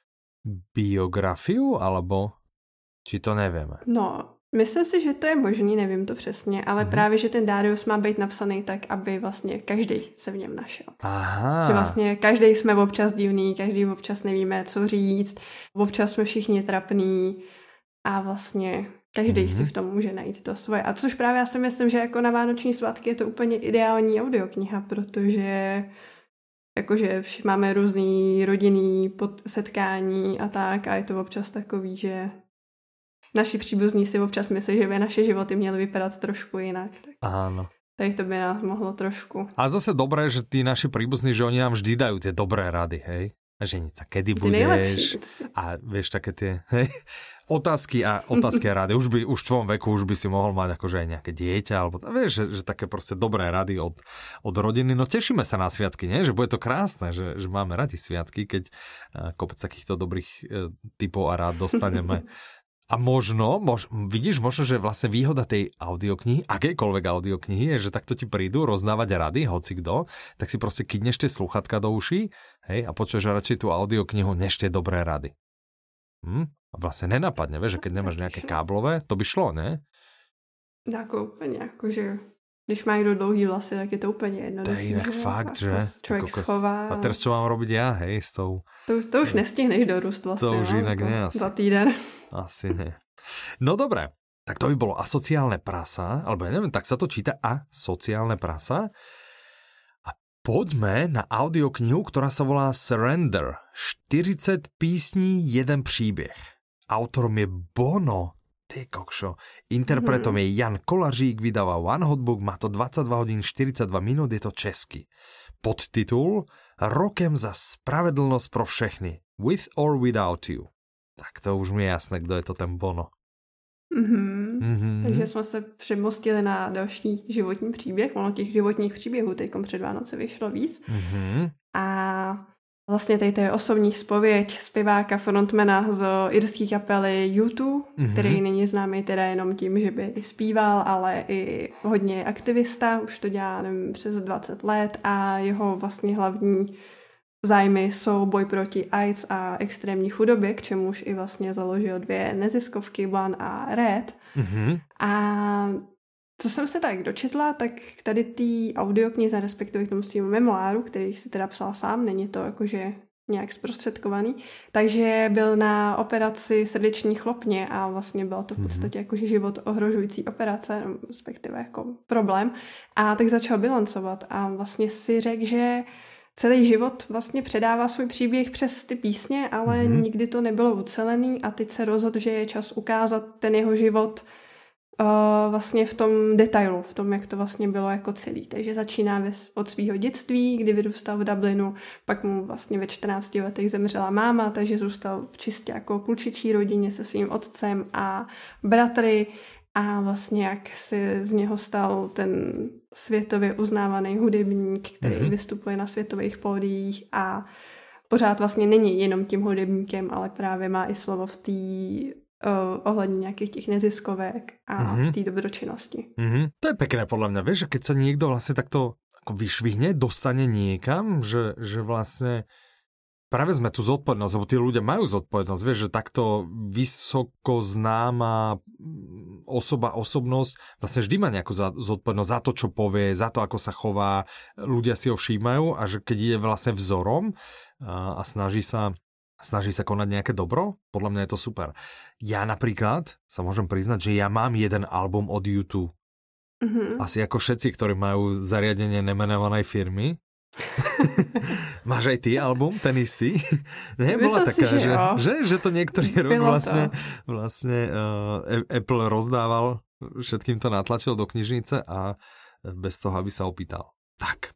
biografiu, alebo či to nevieme? No, myslím si, že to je možný, nevím to přesně, ale mm. právě, že ten Darius má být napsaný tak, aby vlastně každý se v něm našel. Aha. Že vlastně každý jsme občas divný, každý občas nevíme, co říct, občas jsme všichni trapný a vlastně každý mm. si v tom může najít to svoje. A což právě já si myslím, že jako na vánoční svátky je to úplně ideální audiokniha, protože jakože máme různý rodinný setkání a tak a je to občas takový, že naši příbuzní si občas myslí, že by naše životy měly vypadat trošku jinak. Tak. Áno. Tak to by nás mohlo trošku. A zase dobré, že tí naši príbuzní, že oni nám vždy dajú tie dobré rady, hej? Ženiť sa, kedy ty budeš? Nejlepší. A vieš, také tie, hej? Otázky a otázky a rady. Už by, už v tvojom veku už by si mohol mať akože aj nejaké dieťa, alebo vieš, že, že také proste dobré rady od, od rodiny. No tešíme sa na sviatky, nie? Že bude to krásne, že, že máme radi sviatky, keď kopec takýchto dobrých e, typov a rád dostaneme. A možno, mož, vidíš, možno, že vlastne výhoda tej audioknihy, akékoľvek audioknihy, je, že takto ti prídu rozdávať rady, hoci kto, tak si proste kydneš tie slúchatka do uší, hej, a počuješ radšej tú audioknihu, než tie dobré rady. Hm? A vlastne nenapadne, vieš, že keď nemáš nejaké káblové, to by šlo, ne? Jako úplně, jakože když má někdo dlouhý vlasy, tak je to úplně jednoduché. To je jinak fakt, že? Člověk jako schová. A teraz čo mám robiť ja, hej, s tou... To, to už nestihneš dorůst vlasy. To už inak no, ne asi. Za týden. Asi ne. No dobré, tak to by bolo asociálne prasa, alebo ja neviem, tak sa to číta asociálne prasa. A poďme na audioknihu, ktorá sa volá Surrender. štyridsať písní, jeden príbeh. Autorom je Bono. Ty kokšo. Interpretom mm-hmm. je Jan Kolařík, vydáva One Hot Book, má to dvadsaťdva hodín štyridsaťdva minút, je to česky. Podtitul Rokem za spravedlnosť pro všechny. With or without you. Tak to už mi je jasné, kdo je to ten Bono. Mm-hmm. Mm-hmm. Takže jsme se přemostili na další životní příběh. Ono těch životních příběhů teďkom před Vánoce vyšlo víc. Mm-hmm. A vlastně tady to je osobní zpověď zpěváka frontmana z irské kapely U dva, mm-hmm. který není známý teda jenom tím, že by i zpíval, ale i hodně aktivista, už to dělá nevím, přes dvacet let a jeho vlastně hlavní zájmy jsou boj proti AIDS a extrémní chudobě, k čemuž i vlastně založil dvě neziskovky, One a Red. Mm-hmm. A co jsem se tak dočetla, tak tady tý audioknize, respektive k tomu svým memoáru, který si teda psal sám, není to jakože nějak zprostředkovaný, takže byl na operaci srdeční chlopně a vlastně byla to v podstatě jakože život ohrožující operace, respektive jako problém. A tak začal bilancovat a vlastně si řekl, že celý život vlastně předává svůj příběh přes ty písně, ale mm-hmm. nikdy to nebylo ucelený a teď se rozhodl, že je čas ukázat ten jeho život uh, vlastně v tom detailu, v tom, jak to vlastně bylo jako celý. Takže začíná od svého dětství, kdy vyrůstal v Dublinu, pak mu vlastně ve čtrnácti letech zemřela máma, takže zůstal v čistě jako klučičí rodině se svým otcem a bratry a vlastně jak se z něho stal ten světově uznávaný hudebník, který mm-hmm. vystupuje na světových pódiích a pořád vlastně není jenom tím hudebníkem, ale právě má i slovo v té uh, ohledně nějakých těch neziskovek a mm-hmm. v té dobročinnosti. Mm-hmm. To je pekné podľa mňa, vieš, že keď sa niekto vlastne takto ako vyšvihne, dostane niekam, že, že vlastne práve sme tu zodpovednosť, lebo tí ľudia majú zodpovednosť, vieš, že takto vysoko známa osoba, osobnosť vlastne vždy má nejakú zodpovednosť za to, čo povie, za to, ako sa chová, ľudia si ho všímajú a že keď je vlastne vzorom a, a snaží sa snaží sa konať nejaké dobro, podľa mňa je to super. Ja napríklad sa môžem priznať, že ja mám jeden album od U dva. Mm-hmm. Asi ako všetci, ktorí majú zariadenie nemenovanej firmy. Máš aj ty album, ten istý? Nie, bola taká, si, že, že, že to niektorý rok vlastne, vlastne uh, Apple rozdával, všetkým to natlačil do knižnice a bez toho, aby sa opýtal. Tak.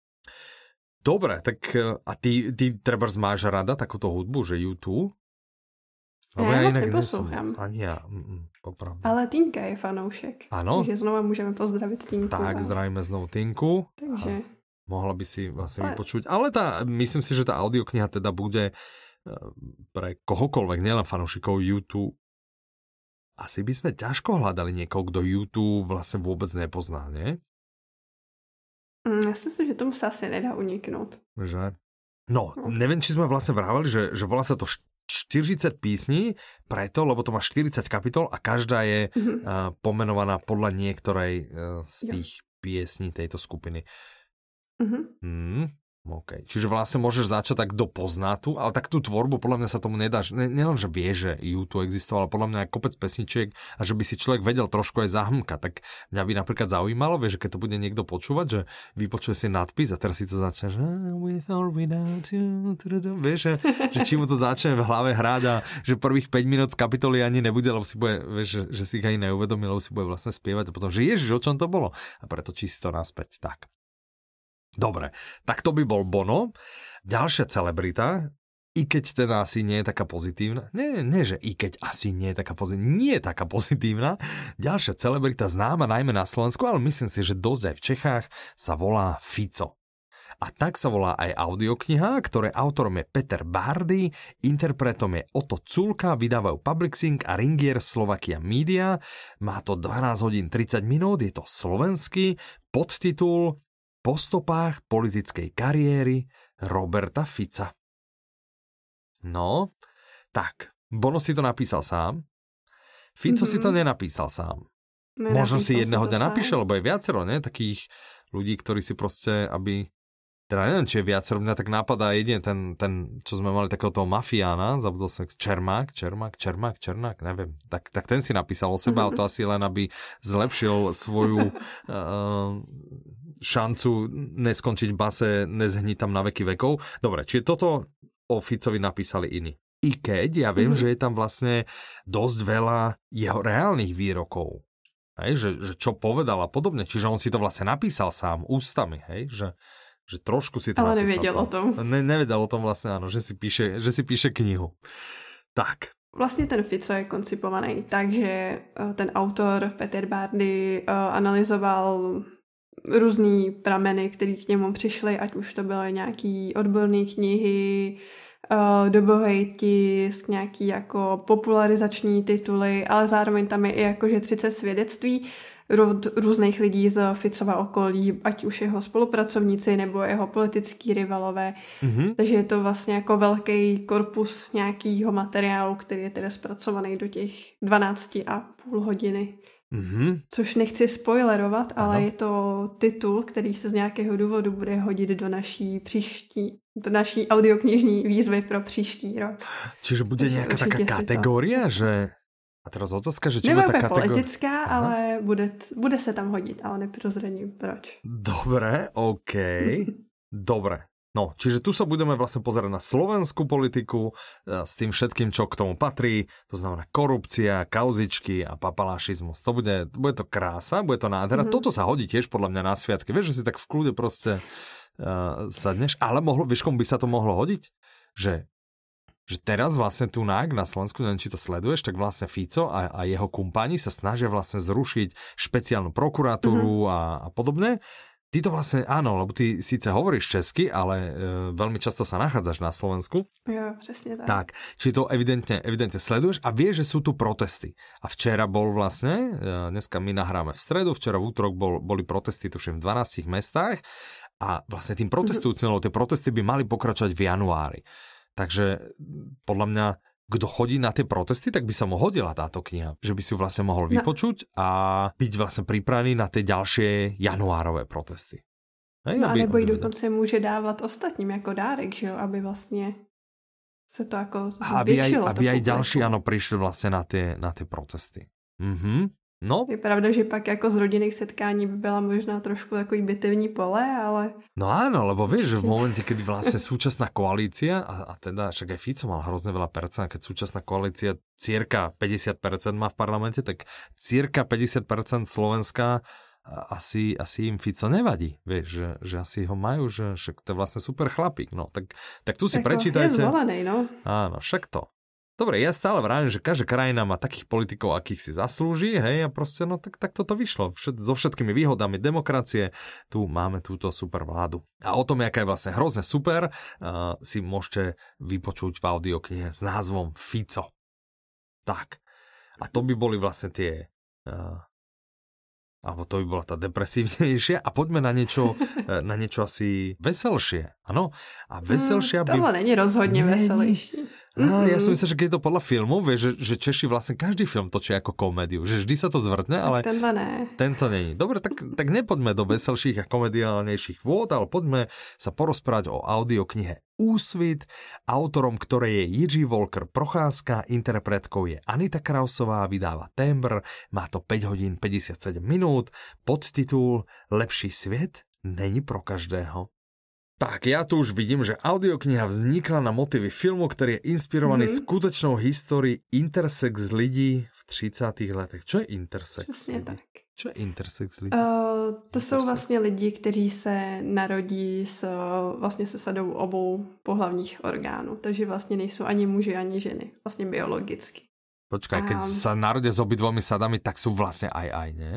Dobre, tak a ty, ty trebárs máš rada takúto hudbu, že U dva? Lebo ja, ja inak neposlouchám. Ani ja, mm, popravde. Ale Týnka je fanoušek. Áno? Takže znova môžeme pozdraviť Týnku. Tak, zdravíme znovu Týnku. Takže... A mohla by si vlastne ale... vypočuť. Ale tá, myslím si, že tá audiokniha teda bude pre kohokoľvek, nielen fanúšikov U dva. Asi by sme ťažko hľadali niekoho, kto U dva vlastne vôbec nepozná, nie? Mm, ja si myslím, že tomu sa asi nedá uniknúť. Že? No, no, neviem, či sme vlastne vrávali, že, že volá sa to štyridsať písní, preto, lebo to má štyridsať kapitol a každá je mm-hmm. uh, pomenovaná podľa niektorej uh, z tých jo. piesní tejto skupiny. Mm-hmm. Mm, okay. Čiže vlastne môžeš začať tak do poznátu, ale tak tú tvorbu podľa mňa sa tomu nedáš. Ne, nielen, že vie, že U dva existoval, ale podľa mňa aj kopec pesničiek a že by si človek vedel trošku aj zahmkať. Tak mňa by napríklad zaujímalo, vieš, že keď to bude niekto počúvať, že vypočuje si nadpis a teraz si to začne, že with or without you, vieš, že, že či mu to začne v hlave hrať a že prvých päť minút z kapitoly ani nebude, lebo si bude, vieš, že, že si ich ani neuvedomí, lebo si bude vlastne spievať a potom, že ježiš, o čom to bolo? A preto či si to naspäť. Tak. Dobre, tak to by bol Bono. Ďalšia celebrita, i keď teda asi nie je taká pozitívna, nie, nie, že i keď asi nie je taká pozitívna, nie je taká pozitívna, ďalšia celebrita známa najmä na Slovensku, ale myslím si, že dosť aj v Čechách, sa volá Fico. A tak sa volá aj audiokniha, ktoré autorom je Peter Bárdy, interpretom je Oto Culka, vydávajú Publixing a Ringier Slovakia Media. Má to dvanásť hodín tridsať minút, je to slovenský, podtitul Po stopách politickej kariéry Roberta Fica. No, tak, Bono si to napísal sám. Fico mm-hmm. si to nenapísal sám. Nenapísal Možno si jedného dňa napíše, lebo je viacero, ne? Takých ľudí, ktorí si proste, aby... Teda neviem, či je viacero, mňa tak napadá jedine ten, ten, čo sme mali takého toho mafiána, zabudol som, Čermák, Čermák, Čermák, Černák, neviem. Tak, tak ten si napísal o sebe, mm-hmm. ale to asi len, aby zlepšil svoju... uh, šancu neskončiť v base, nezhniť tam na veky vekov. Dobre, čiže toto o Ficovi napísali iní. I keď ja viem, mm-hmm. že je tam vlastne dosť veľa jeho reálnych výrokov. Hej, že, že čo povedal a podobne. Čiže on si to vlastne napísal sám ústami, hej, že, že trošku si to ale napísal nevedel sám. o tom. Ne, nevedel o tom vlastne, áno, že si píše, že si píše knihu. Tak. Vlastně ten Fico je koncipovaný tak, že ten autor Peter Bárdy analyzoval různý prameny, které k němu přišly, ať už to byly nějaký odborné knihy, dobový tisk, nějaký jako popularizační tituly, ale zároveň tam je i jakože třicet svědectví od různých lidí z Ficova okolí, ať už jeho spolupracovníci nebo jeho politický rivalové. Mm-hmm. Takže je to vlastně jako velký korpus nějakého materiálu, který je teda zpracovaný do těch dvanácti a půl hodiny. Mm-hmm. Což nechci spoilerovat, ale ano. Je to titul, který se z nějakého důvodu bude hodit do naší příští, do naší audioknižní výzvy pro příští rok. Čiže bude Takže nějaká taká kategoria, že... A teraz otázka, že či bude tá kategória... politická, Aha. ale bude, bude se tam hodit, ale neprozradím proč. Dobre, OK. Dobre. No, čiže tu sa budeme vlastne pozerať na slovenskú politiku s tým všetkým, čo k tomu patrí, to znamená korupcia, kauzičky a papalášizmus. To bude, bude to krása, bude to nádhera. Mm-hmm. Toto sa hodí tiež podľa mňa na sviatky. Vieš, že si tak v kľude proste uh, sadneš, ale mohlo, vieš, komu by sa to mohlo hodiť? Že, že teraz vlastne tu na, na Slovensku, neviem, či to sleduješ, tak vlastne Fico a, a jeho kumpáni sa snažia vlastne zrušiť špeciálnu prokuratúru mm-hmm. a, a podobne. Ty to vlastne, áno, lebo ty síce hovoríš česky, ale e, veľmi často sa nachádzaš na Slovensku. Jo, presne tak. Tak, či to evidentne, evidentne sleduješ a vieš, že sú tu protesty. A včera bol vlastne, e, dneska my nahráme v stredu, včera v útorok bol, boli protesty tuším v dvanástich mestách a vlastne tým protestujúcim, mm-hmm. lebo tie protesty by mali pokračovať v januári. Takže podľa mňa kto chodí na tie protesty, tak by sa mu hodila táto kniha. Že by si ju vlastne mohol vypočuť a byť vlastne pripravený na tie ďalšie januárové protesty. Hej, no aby, a nebo i dokonce může dávat ostatním jako dárek, že jo, aby vlastně se to jako zvětšilo. Aby aj, aby aj ďalší, áno, prišli vlastne na tie, na tie protesty. Mhm. No. Je pravda, že pak jako z rodinných setkání by byla možná trošku takový bitevní pole, ale... No áno, lebo vieš, že v momente, kedy vlastne súčasná koalícia, a, a teda však aj Fico mal hrozne veľa percent, keď súčasná koalícia cirka päťdesiat percent má v parlamente, tak cirka päťdesiat percent Slovenska asi, asi im Fico nevadí. Vieš, že, že asi ho majú, že však to je vlastne super chlapík. No, tak, tak tu si Eko, prečítajte. Je zvolený, no. Áno, však to. Dobre, ja stále vravím, že každá krajina má takých politikov, akých si zaslúži, hej, a proste, no tak, tak toto vyšlo. Všet, so všetkými výhodami demokracie, tu máme túto super vládu. A o tom, jaká je vlastne hrozne super, uh, si môžete vypočuť v audioknihe s názvom Fico. Tak. A to by boli vlastne tie... Uh, alebo to by bola tá depresívnejšia. A poďme na niečo, na niečo asi veselšie. Áno? A veselšia hmm, by... Tohle není rozhodne veselejší. Á, ja som myslel, že keď je to podľa filmu, vieš, že, že Češi vlastne každý film točia ako komédiu. Že vždy sa to zvrtne, ale... Tenhle ne. Tento není. Dobre, tak, tak nepoďme do veselších a komediálnejších vôd, ale poďme sa porozprávať o audioknihe Úsvit, autorom ktorej je Jiří Volker Procházka, interpretkou je Anita Krausová, vydáva Tembr, má to päť hodín päťdesiatsedem minút, podtitul Lepší svět není pro každého. Tak, ja tu už vidím, že audiokniha vznikla na motivy filmu, ktorý je inspirovaný mm-hmm. skutečnou histórií intersex lidí v tridsiatych letech. Čo je intersex Přesně lidí? tak. Čo je intersex lidí? Uh, to intersex. jsou vlastně lidi, kteří se narodí s, vlastně se sadou obou pohlavních orgánů. Takže vlastně nejsou ani muži, ani ženy. Vlastně biologicky. Počkaj, keď um, sa narodia s obidvomi sadami, tak sú vlastne aj aj, nie?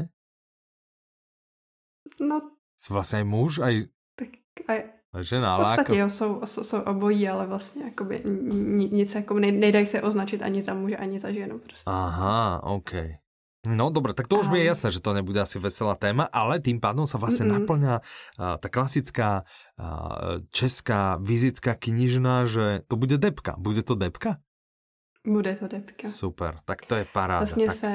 No. Sú vlastne aj muž, aj... Tak aj... Žena, v podstatě ako... jo, jsou, jsou, jsou obojí, ale vlastně jakoby nic jako nejdají se označit ani za muže, ani za ženu. Prostě. Aha, OK. No dobre, tak to už mi je jasné, že to nebude asi veselá téma, ale tým pádom sa vlastne Mm-mm. naplňa uh, tá klasická uh, česká vizitka knižná, že to bude debka. Bude to debka? Bude to debka. Super, tak to je paráda. Vlastně tak... se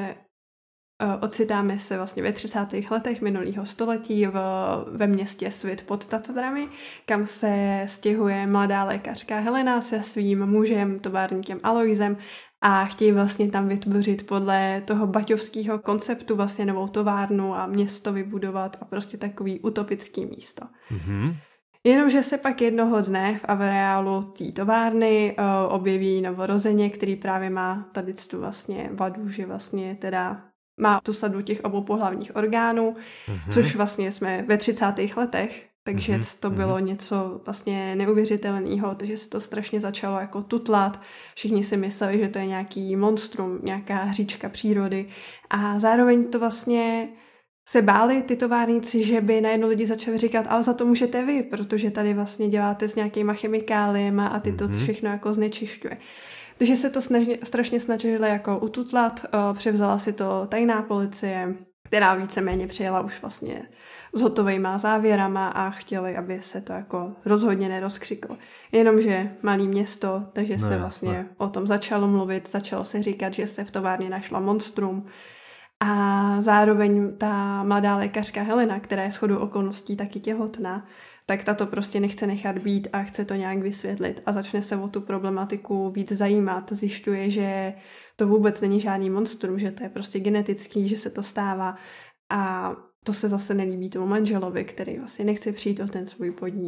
ocitáme se vlastně ve třicátých letech minulého století v, ve městě Svit pod Tatrami, kam se stěhuje mladá lékařka Helena se svým mužem, továrníkem Aloisem a chtějí vlastně tam vytvořit podle toho baťovského konceptu vlastně novou továrnu a město vybudovat a prostě takový utopický místo. Mm-hmm. Jenomže se pak jednoho dne v areálu té továrny uh, objeví novorozeně, který právě má tady tu vlastně vadu, že vlastně teda má tu sadu těch obou pohlavních orgánů, mm-hmm. což vlastně jsme ve třicátých letech, takže mm-hmm. to bylo něco vlastně neuvěřitelného, takže se to strašně začalo jako tutlat. Všichni si mysleli, že to je nějaký monstrum, nějaká hříčka přírody a zároveň to vlastně se báli ty továrníci, že by najednou lidi začali říkat, ale za to můžete vy, protože tady vlastně děláte s nějakýma chemikáliemi a ty to mm-hmm. všechno jako znečišťuje. Takže se to snažně, strašně snažili jako ututlat, převzala si to tajná policie, která víceméně přijela už vlastně s hotovejma závěrama a chtěli, aby se to jako rozhodně nerozkřiklo. Jenomže malý město, takže no, se vlastně jasne. O tom začalo mluvit, začalo se říkat, že se v továrně našla monstrum a zároveň ta mladá lékařka Helena, která je shodou okolností taky těhotná, tak ta to prostě nechce nechat být a chce to nějak vysvětlit a začne se o tu problematiku víc zajímat. Zjišťuje, že to vůbec není žádný monstrum, že to je prostě genetický, že se to stává a to se zase nelíbí tomu manželovi, který vlastně nechce přijít o ten svůj podnik.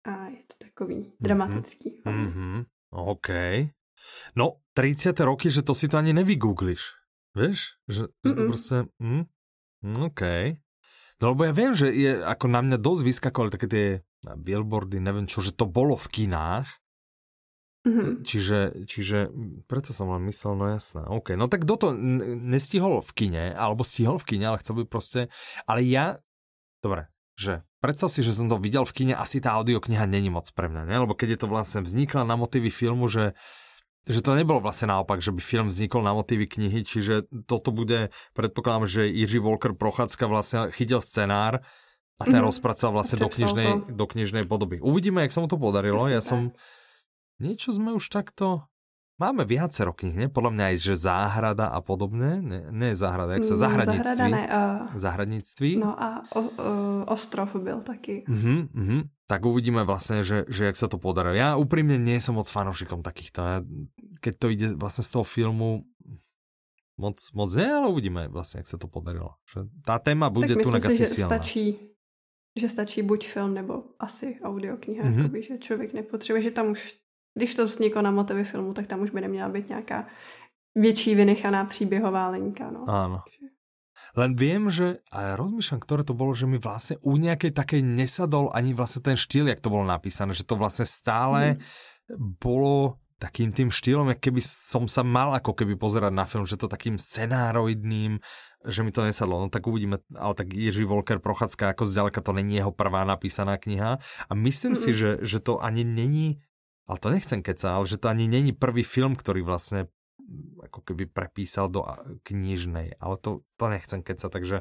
a je to takový dramatický. Mm-hmm. OK. No, tridsiate roky, že to si to ani nevygoogliš. Vieš? Že, že to proste... Mm, OK. No lebo ja viem, že je ako na mňa dosť vyskakovali také tie billboardy, neviem čo, že to bolo v kinách. Mm-hmm. Čiže, čiže preto som len myslel, no jasné. OK. No tak kto to nestihol v kine, alebo stihol v kine, ale chcel by proste... Ale ja... Dobre, že predstav si, že som to videl v kine, asi tá audiokniha není moc pre mňa, ne? Lebo keď je to vlastne vznikla na motívy filmu, že že to nebolo vlastne naopak, že by film vznikol na motívy knihy, čiže toto bude, predpokladám, že Jiří Volker Prochádzka vlastne chytil scenár a ten mm-hmm. rozpracoval vlastne do knižnej, do knižnej podoby. Uvidíme, jak sa mu to podarilo. Ja som... Niečo sme už takto... Máme viacero knih, ne? Podľa mňa aj, že Záhrada a podobne. Ne, ne Záhrada, jak sa... Zahradníctví. Záhrada ne, uh... Zahradníctví. No a o, uh, Ostrov byl taky. Uh-huh, uh-huh. Tak uvidíme vlastne, že, že jak sa to podarilo. Ja úprimne nie som moc fanúšikom takýchto. Ja, keď to ide vlastne z toho filmu, moc, moc nie, ale uvidíme vlastne, jak sa to podarilo. Že tá téma bude tu na asi silná. Stačí, že stačí buď film, nebo asi audiokniha, uh-huh. jakoby, že člověk nepotřebuje, že tam už, když to vzniklo na motivy filmu, tak tam už by neměla být nějaká větší vynechaná příběhová linka. No. Áno. Len viem, že a ja rozmýšľam, ktoré to bolo, že mi vlastne u nejakej takej nesadol ani vlastne ten štýl, jak to bolo napísané, že to vlastne stále hmm. bolo takým tým štýlom, jak keby som sa mal ako keby pozerať na film, že to takým scenároidným, že mi to nesadlo. No tak uvidíme, ale tak Jiří Volker Prochádzka ako zďaleka to není jeho prvá napísaná kniha a myslím hmm. si, že, že to ani není, ale to nechcem keca, ale že to ani není prvý film, ktorý vlastne ako keby prepísal do knižnej, ale to, to nechcem keca, takže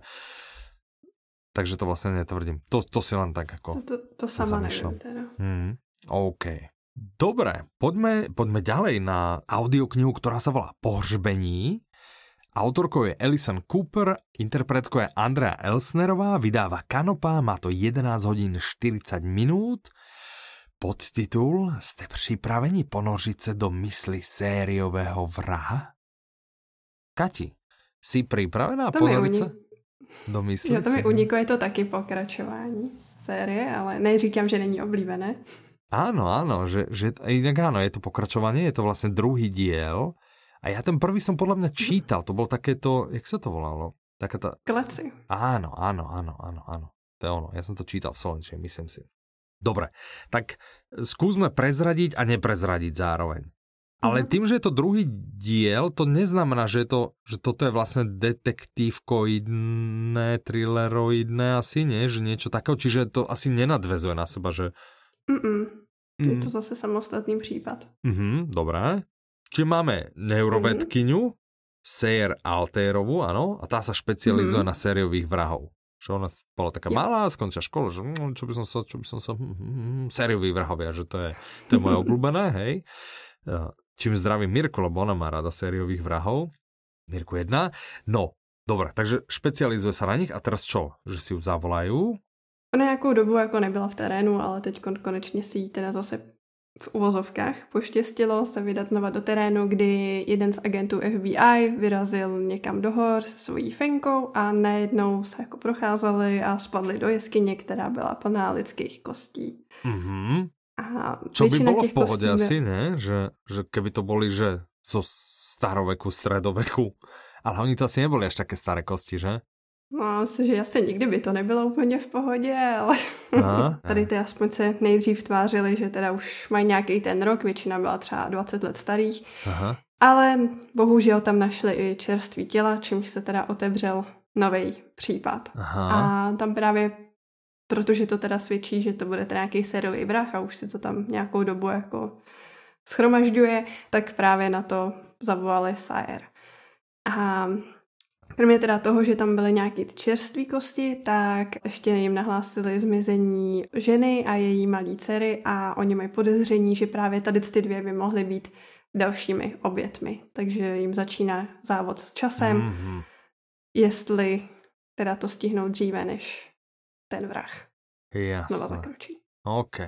takže to vlastne netvrdím. To, to si len tak ako... To, to, to sama neviem teda. Hmm, OK. Dobre, poďme, poďme ďalej na audioknihu, ktorá sa volá Pohřbení. Autorkou je Alison Cooper, interpretkou je Andrea Elsnerová, vydáva Kanopa, má to jedenásť hodín štyridsať minút. Podtitul: Jste připraveni ponořit se do mysli sériového vraha? Kati, jsi připravená ponořit se do mysli? Jo, to mi uniklo, je to taky pokračování série, ale neříkám, že není oblíbené. Áno, áno, že, že inak áno, je to pokračovanie, je to vlastne druhý diel a ja ten prvý som podľa mňa čítal, to bolo takéto, jak sa to volalo? Taká tá... Kleci. Áno, áno, áno, áno, áno, to je ono, ja som to čítal v slovenčine, myslím si. Dobre, tak skúsme prezradiť a neprezradiť zároveň. Ale tým, že je to druhý diel, to neznamená, že, je to, že toto je vlastne detektívkoidné, thrilleroidné asi, nie? Že niečo takého, čiže to asi nenadvezuje na seba, že... Mm-mm. Je to zase samostatný prípad. Mhm, dobré. Čiže máme neurovedkyňu, Sayer Altérovú, áno, a tá sa špecializuje mm. na sériových vrahov. Že ona bola taká ja. malá, skončila školu, že čo by som sa, čo by som sa, hm, sérioví vrahovia, že to je, to je moje obľúbené, hej. Čím zdravím Mirku, lebo ona má rada sériových vrahov. Mirku jedna. No, dobre, takže špecializuje sa na nich a teraz čo? Že si ju zavolajú? Ona nějakou dobu jako nebyla v terénu, ale teď konečně si jí teda zase v uvozovkách poštěstilo se vydat znova do terénu, kdy jeden z agentů F B I vyrazil někam do hor se svojí fenkou a najednou se jako procházeli a spadli do jeskyně, která byla plná lidských kostí. Mm-hmm. A čo by bolo v pohode asi, ne? Že, že keby to boli, že zo staroveku, stredoveku. Ale oni to asi neboli až také staré kosti, že? No, myslím, že asi nikdy by to nebylo úplně v pohodě, ale a, tady ty aspoň se nejdřív tvářili, že teda už mají nějaký ten rok, většina byla třeba dvacet let starých, aha. Ale bohužel tam našli i čerství těla, čímž se teda otevřel nový případ. Aha. A tam právě, protože to teda svědčí, že to bude teda nějaký sériový vrah a už si to tam nějakou dobu jako schromažďuje, tak právě na to zavolali Sayer. A kromě teda toho, že tam byly nějaký ty čerství kosti, tak ještě jim nahlásili zmizení ženy a její malý dcery a oni mají podezření, že právě tady ty dvě by mohly být dalšími obětmi. Takže jim začíná závod s časem, mm-hmm. jestli teda to stihnou dříve, než ten vrah Jasne. znova zakročí. OK.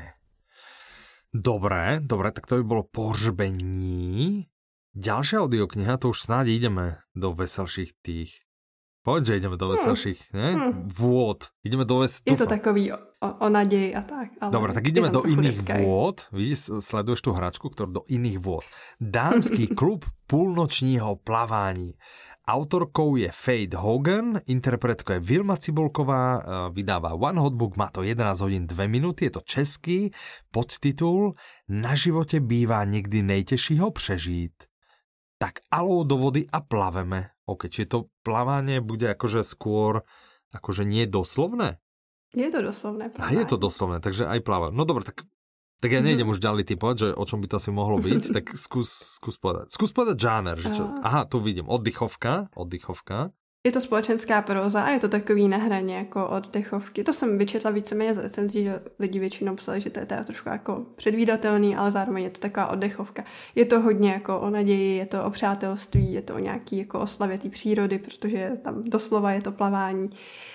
Dobre, dobre, tak to by bolo Pohřbení. Ďalšia audiokniha, to už snáď ideme do veselších tých Poď, že ideme do veselších, ne? Hmm. Vôd. Ideme do ves... Je to takový o, o naději a tak. Ale dobre, tak ideme do iných redkaj. Vôd. Vidíš, sleduješ tú hračku, ktorú do iných vôd. Dámský klub púlnočního plavání. Autorkou je Fate Hogan, interpretkou je Vilma Cibulková, vydáva One Hot Book, má to jedenásť hodín dve minúty, je to český podtitul Na živote bývá niekdy nejtežší ho prežít. Tak alou do vody a plaveme. OK, či to plavanie bude akože skôr, akože nie doslovné? Je to doslovné plavanie. A je to doslovné, takže aj plavať. No dobre, tak, tak ja nejdem už ďalej typovať, že o čom by to asi mohlo byť, tak skús, skús povedať. Skús povedať žáner, že čo? Aha, tu vidím, oddychovka, oddychovka. Je to společenská próza a je to takový na hraně jako oddechovky. To jsem vyčetla víceméně z recenzí, že lidi většinou psali, že to je teda trošku jako předvídatelný, ale zároveň je to taková oddechovka. Je to hodně jako o naději, je to o přátelství, je to o nějaký jako oslavě té přírody, protože tam doslova je to plavání.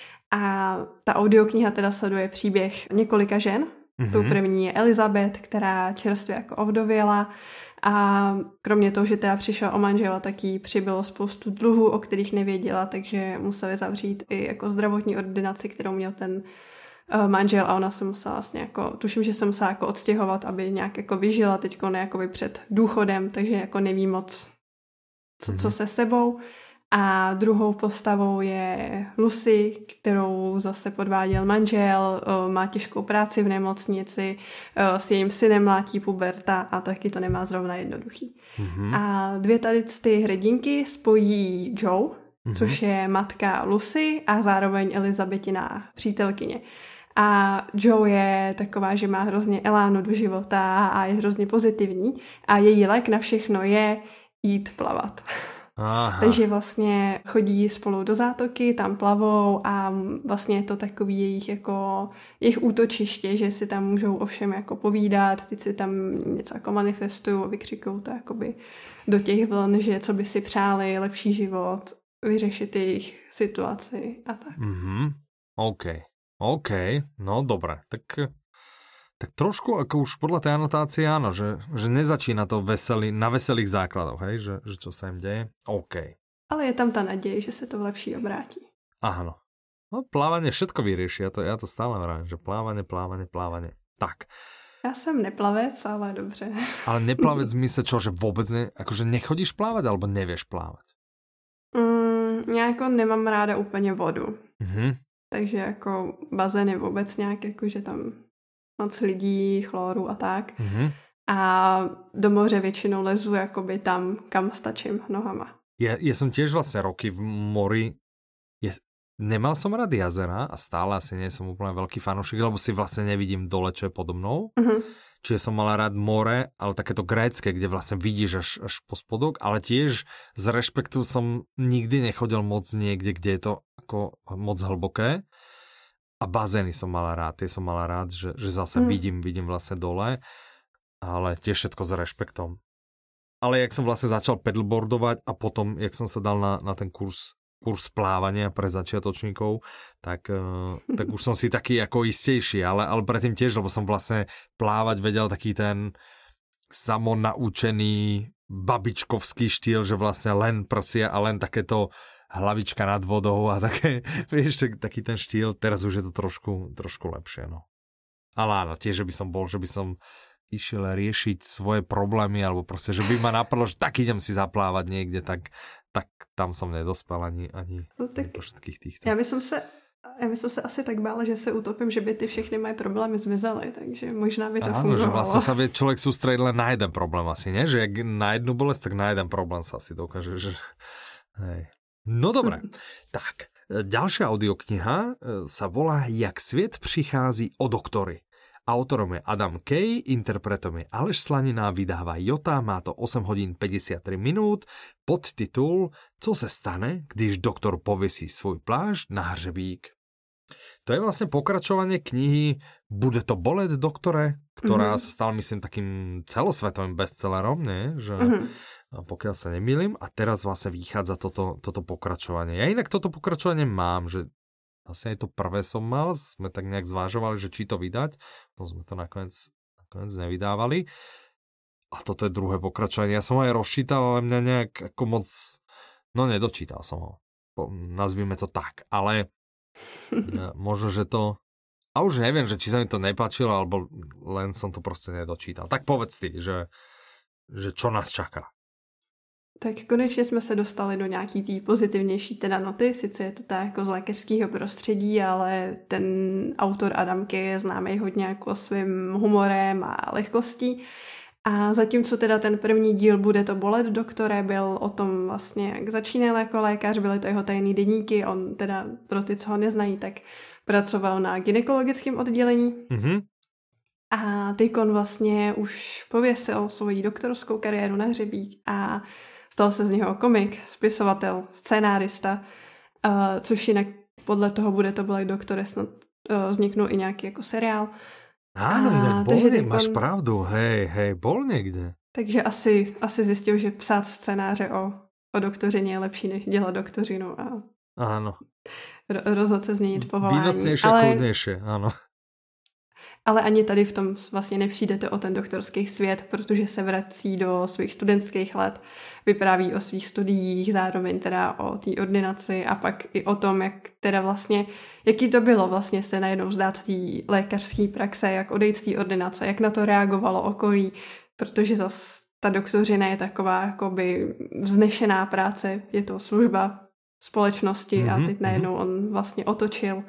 A ta audiokniha teda sleduje příběh několika žen. Mm-hmm. Tou první je Elizabeth, která čerstvě jako ovdověla. A kromě toho, že teda přišla o manžela, tak jí přibylo spoustu dluhů, o kterých nevěděla, takže museli zavřít i jako zdravotní ordinaci, kterou měl ten uh, manžel a ona se musela vlastně jako, tuším, že se musela jako odstěhovat, aby nějak jako vyžila teďko ne jakoby před důchodem, takže jako neví moc, co, mm-hmm. co se sebou. A druhou postavou je Lucy, kterou zase podváděl manžel, má těžkou práci v nemocnici, s jejím synem mlátí puberta a taky to nemá zrovna jednoduchý. Mm-hmm. A dvě tady ty hrdinky spojí Joe, mm-hmm. což je matka Lucy a zároveň Elizabetina přítelkyně. A Joe je taková, že má hrozně elánu do života a je hrozně pozitivní a její lék na všechno je jít plavat. Aha. Takže vlastně chodí spolu do zátoky, tam plavou a vlastně je to takový jejich jako jejich útočiště, že si tam můžou ovšem jako povídat, teď si tam něco jako manifestují, vykřikují to jakoby do těch vln, že co by si přáli, lepší život, vyřešit jejich situaci a tak. Mhm. OK. OK, no dobré, tak tak trošku ako už podľa tej anotácie áno, že, že nezačína to veselý, na veselých základoch, hej, že, že čo sa im deje. OK. Ale je tam ta naděje, že se to v lepší obrátí. Áno. No plávanie všetko vyrieši, ja to, ja to stále vravím, že plávanie, plávanie, plávanie. Tak. Já jsem neplavec, ale dobře. Ale neplavec zmysle čo, že vôbec ne, akože nechodíš plávať, alebo nevieš plávať? Mm, já jako nemám ráda úplně vodu. Mhm. Takže jako bazény vůbec nějak, jako že tam moc lidí, chloru a tak. Mm-hmm. A do moře většinou lezu jakoby tam, kam stačím nohama. Ja, ja som tiež vlastne roky v mori. Ja, nemal som rád jazera a stále asi nie som úplne veľký fanúšik, lebo si vlastne nevidím dole, čo je podo mnou. Mm-hmm. Čiže som mal rád more, ale takéto grécke, kde vlastne vidíš až, až po spodok, ale tiež z rešpektu som nikdy nechodil moc niekde, kde je to ako moc hlboké. A bazény som mala rád, tie som mala rád, že, že zase mm. vidím, vidím vlastne dole, ale tiež všetko s rešpektom. Ale jak som vlastne začal pedalboardovať a potom, jak som sa dal na, na ten kurz, kurz plávania pre začiatočníkov, tak, uh, tak už som si taký ako istejší, ale, ale predtým tiež, lebo som vlastne plávať vedel taký ten samonaučený babičkovský štýl, že vlastne len prsia a len takéto hlavička nad vodou a také, vieš, taký ten štýl, teraz už je to trošku, trošku lepšie, no. Ale áno, tiež, že by som bol, že by som išiel riešiť svoje problémy, alebo proste, že by ma napadlo, že tak idem si zaplávať niekde, tak, tak tam som nedospel ani, ani no, tak po všetkých týchto. Já bych se, já bych se asi tak bála, že se utopím, že by ty všechny moje problémy zmizely, takže možná by to áno, fungovalo. Že vlastne sa vie človek sústrediť len na jeden problém asi, nie? Že jak na jednu bolesť, tak na jeden problém sa asi dokáže, že... Hej. No dobré, tak, ďalšia audiokniha sa volá Jak svět přichází o doktory. Autorom je Adam Kay, interpretom je Aleš Slanina, vydává Jota, má to osem hodín päťdesiattri minút, podtitul Co se stane, když doktor pověsí svůj plášť na hřebík. To je vlastne pokračovanie knihy Bude to bolet, doktore, ktorá mm-hmm. sa stala, myslím, takým celosvetovým bestsellerom, nie? Že... Mm-hmm. Pokiaľ sa nemýlim, a teraz vlastne vychádza toto, toto pokračovanie. Ja inak toto pokračovanie mám, že vlastne aj to prvé som mal, sme tak nejak zvážovali, že či to vydať, no sme to nakoniec, nakoniec nevydávali. A toto je druhé pokračovanie. Ja som ho aj rozčítal, ale mňa nejak ako moc, no nedočítal som ho. nazvime to tak. Ale možno, že to... A už neviem, že či sa mi to nepáčilo, alebo len som to proste nedočítal. Tak povedz ty, že, že čo nás čaká. Tak konečně jsme se dostali do nějaký té pozitivnější teda noty, sice je to tak jako z lékařského prostředí, ale ten autor Adam Kay je známý hodně jako svým humorem a lehkostí. A zatímco teda ten první díl Bude to bolet, doktore, byl o tom vlastně, jak začínal jako lékař, byly to jeho tajný deníky, on teda pro ty, co ho neznají, tak pracoval na gynekologickém oddělení. Mm-hmm. A teď on vlastně už pověsil svoji doktorskou kariéru na hřebík a stal se z něho komik, spisovatel, scénárista, uh, což jinak podle toho Bude to bolet, doktore, snad uh, vzniknul i nějaký jako seriál. Áno, inak bol niekde, máš pravdu, hej, hej, bol niekde. Takže asi, asi zjistil, že psát scénáře o, o doktořině je lepší, než dělat doktořinu a áno. Ro- rozhodl se změnit povolání. Výnosnější a kľudnější, áno. Ale ani tady v tom vlastně nepřijdete o ten doktorský svět, protože se vrací do svých studentských let, vypráví o svých studiích, zároveň teda o té ordinaci a pak i o tom, jak teda vlastně, jaký to bylo vlastně se najednou vzdát té lékařské praxe, jak odejít z té ordinace, jak na to reagovalo okolí, protože zas ta doktořina je taková jakoby vznešená práce, je to služba společnosti mm-hmm, a teď najednou on vlastně otočil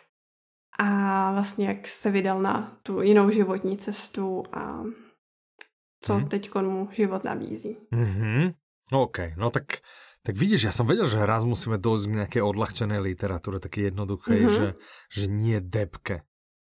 a vlastně jak se vydal na tu jinou životní cestu a co mm. teď mu život nabízí. Mm-hmm. OK, no tak, tak vidíš, ja som vedel, že raz musíme dojsť k nejakej odľahčenej literatúre, také jednoduchej, mm-hmm. že, že nie debke.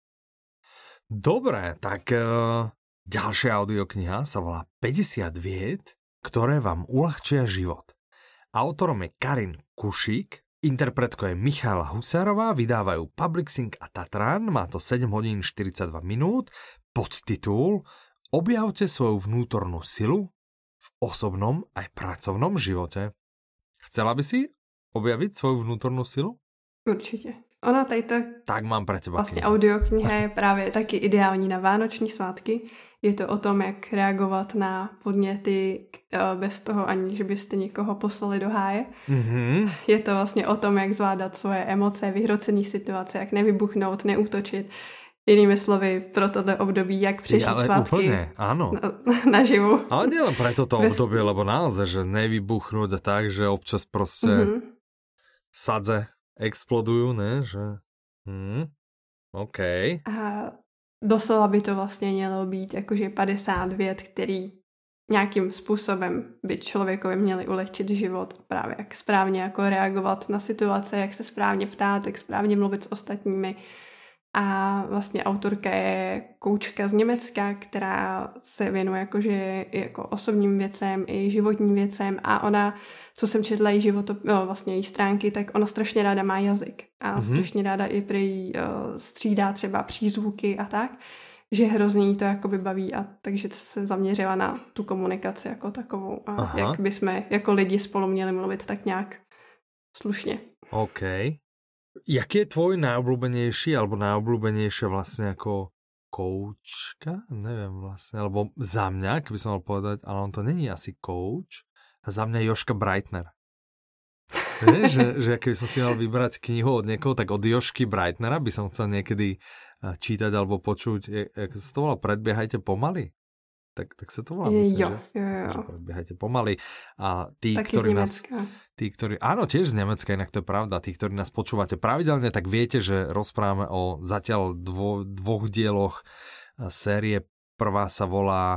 Dobre, tak uh, ďalšia audiokniha sa volá päťdesiat vied, ktoré vám uľahčia život. Autorom je Karin Kušík, interpretkou je Michála Husárová, vydávajú Publixing a Tatran, má to sedem hodín štyridsaťdva minút, podtitul Objavte svoju vnútornú silu v osobnom aj pracovnom živote. Chcela by si objaviť svoju vnútornú silu? Určitě. Ona tady ta tak mám pre teba vlastně audiokniha je právě taky ideální na vánoční svátky. Je to o tom, jak reagovat na podněty bez toho, aniž byste někoho poslali do háje. Mm-hmm. Je to vlastně o tom, jak zvládat svoje emoce, vyhrocené situace, jak nevybuchnout, neútočit. Jinými slovy, pro tohle období, jak přežít ale svátky úplne, áno. Na, naživu. Ale nielen pre toto bez... obdobie, lebo naozaj, že nevybuchnúť a tak, že občas proste mm-hmm. sadze explodujú, ne? Že... Hmm. OK. A doslova by to vlastně mělo být jakože padesát vět, který nějakým způsobem by člověkovi měli ulehčit život. Právě jak správně jako reagovat na situace, jak se správně ptát, jak správně mluvit s ostatními. A vlastně autorka je koučka z Německa, která se věnuje jakože jako osobním věcem i životním věcem a ona, co jsem četla její životo, no, vlastně její stránky, tak ona strašně ráda má jazyk a mm-hmm. strašně ráda i prý uh, střídá třeba přízvuky a tak, že hrozně jí to jakoby baví a takže se zaměřila na tu komunikaci jako takovou a aha. jak bychom jako lidi spolu měli mluvit tak nějak slušně. OK. Jaký je tvoj najobľúbenejší alebo najobľúbenejšie vlastne ako koučka? Neviem vlastne, alebo za mňa, keby som mal povedať, ale on to není asi kouč, a za mňa Jožka Breitner. Vieš, že, že keby som si mal vybrať knihu od niekoho, tak od Jožky Breitnera by som chcel niekedy čítať alebo počuť, jak sa to volá, Predbiehajte pomaly? Tak, tak sa to volá, myslím, jo, že? Jo, jo, myslím, že Predbiehajte pomaly. A tí, taky ktorí nás... Tí, ktorí, áno, tiež z Nemecka, inak to je pravda. Tí, ktorí nás počúvate pravidelne, tak viete, že rozprávame o zatiaľ dvo, dvoch dieloch série. Prvá sa volá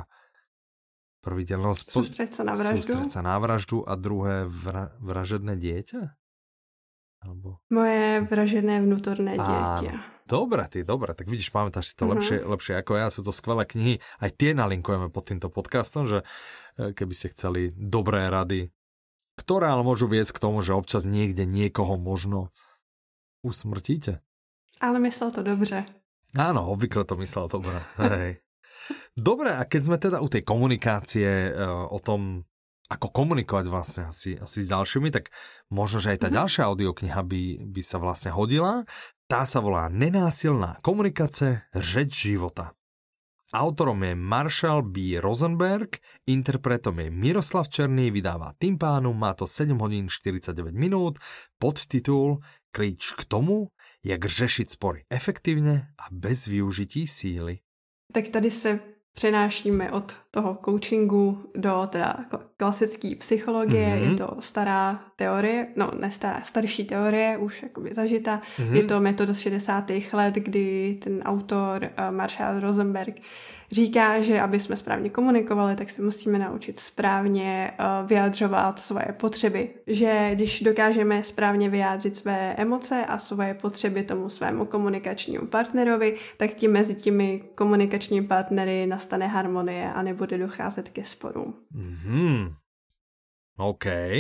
prvý diel no, Sústreť sa na vraždu. Sústreť sa na vraždu a druhé vra, vražedné dieťa? Alebo... Moje vražedné vnútorné dieťa. Áno. Dobre, ty, dobre, tak vidíš, pamätáš si to uh-huh. lepšie, lepšie ako ja, sú to skvelé knihy, aj tie nalinkujeme pod týmto podcastom, že keby ste chceli dobré rady, ktoré ale môžu viesť k tomu, že občas niekde niekoho možno usmrtíte. Ale myslel to dobře. Áno, obvykle to myslel dobre. Hej. Dobre, a keď sme teda u tej komunikácie, o tom, ako komunikovať vlastne asi, asi s ďalšími, tak možno, že aj tá ďalšia audiokniha by, by sa vlastne hodila. Tá sa volá Nenásilná komunikace, řeč života. autorom je Marshall B. Rosenberg, interpretom je Miroslav Černý, vydává Tympánum, má to sedm hodín štyridsaťdeväť minút, podtitul Klíč k tomu, jak řešit spory efektivně a bez využití síly. Tak tady se přenášíme od toho coachingu do teda klasické psychologie, mm-hmm. je to stará teorie, no ne stará, starší teorie, už jakoby zažitá. Mm-hmm. Je to metoda z šedesátých let, kdy ten autor uh, Marshall Rosenberg říká, že aby jsme správně komunikovali, tak se musíme naučit správně uh, vyjadřovat svoje potřeby. Že když dokážeme správně vyjádřit své emoce a svoje potřeby tomu svému komunikačnímu partnerovi, tak tím mezi těmi komunikačními partnery nastane harmonie a nebude docházet ke sporům. Mhm. OK.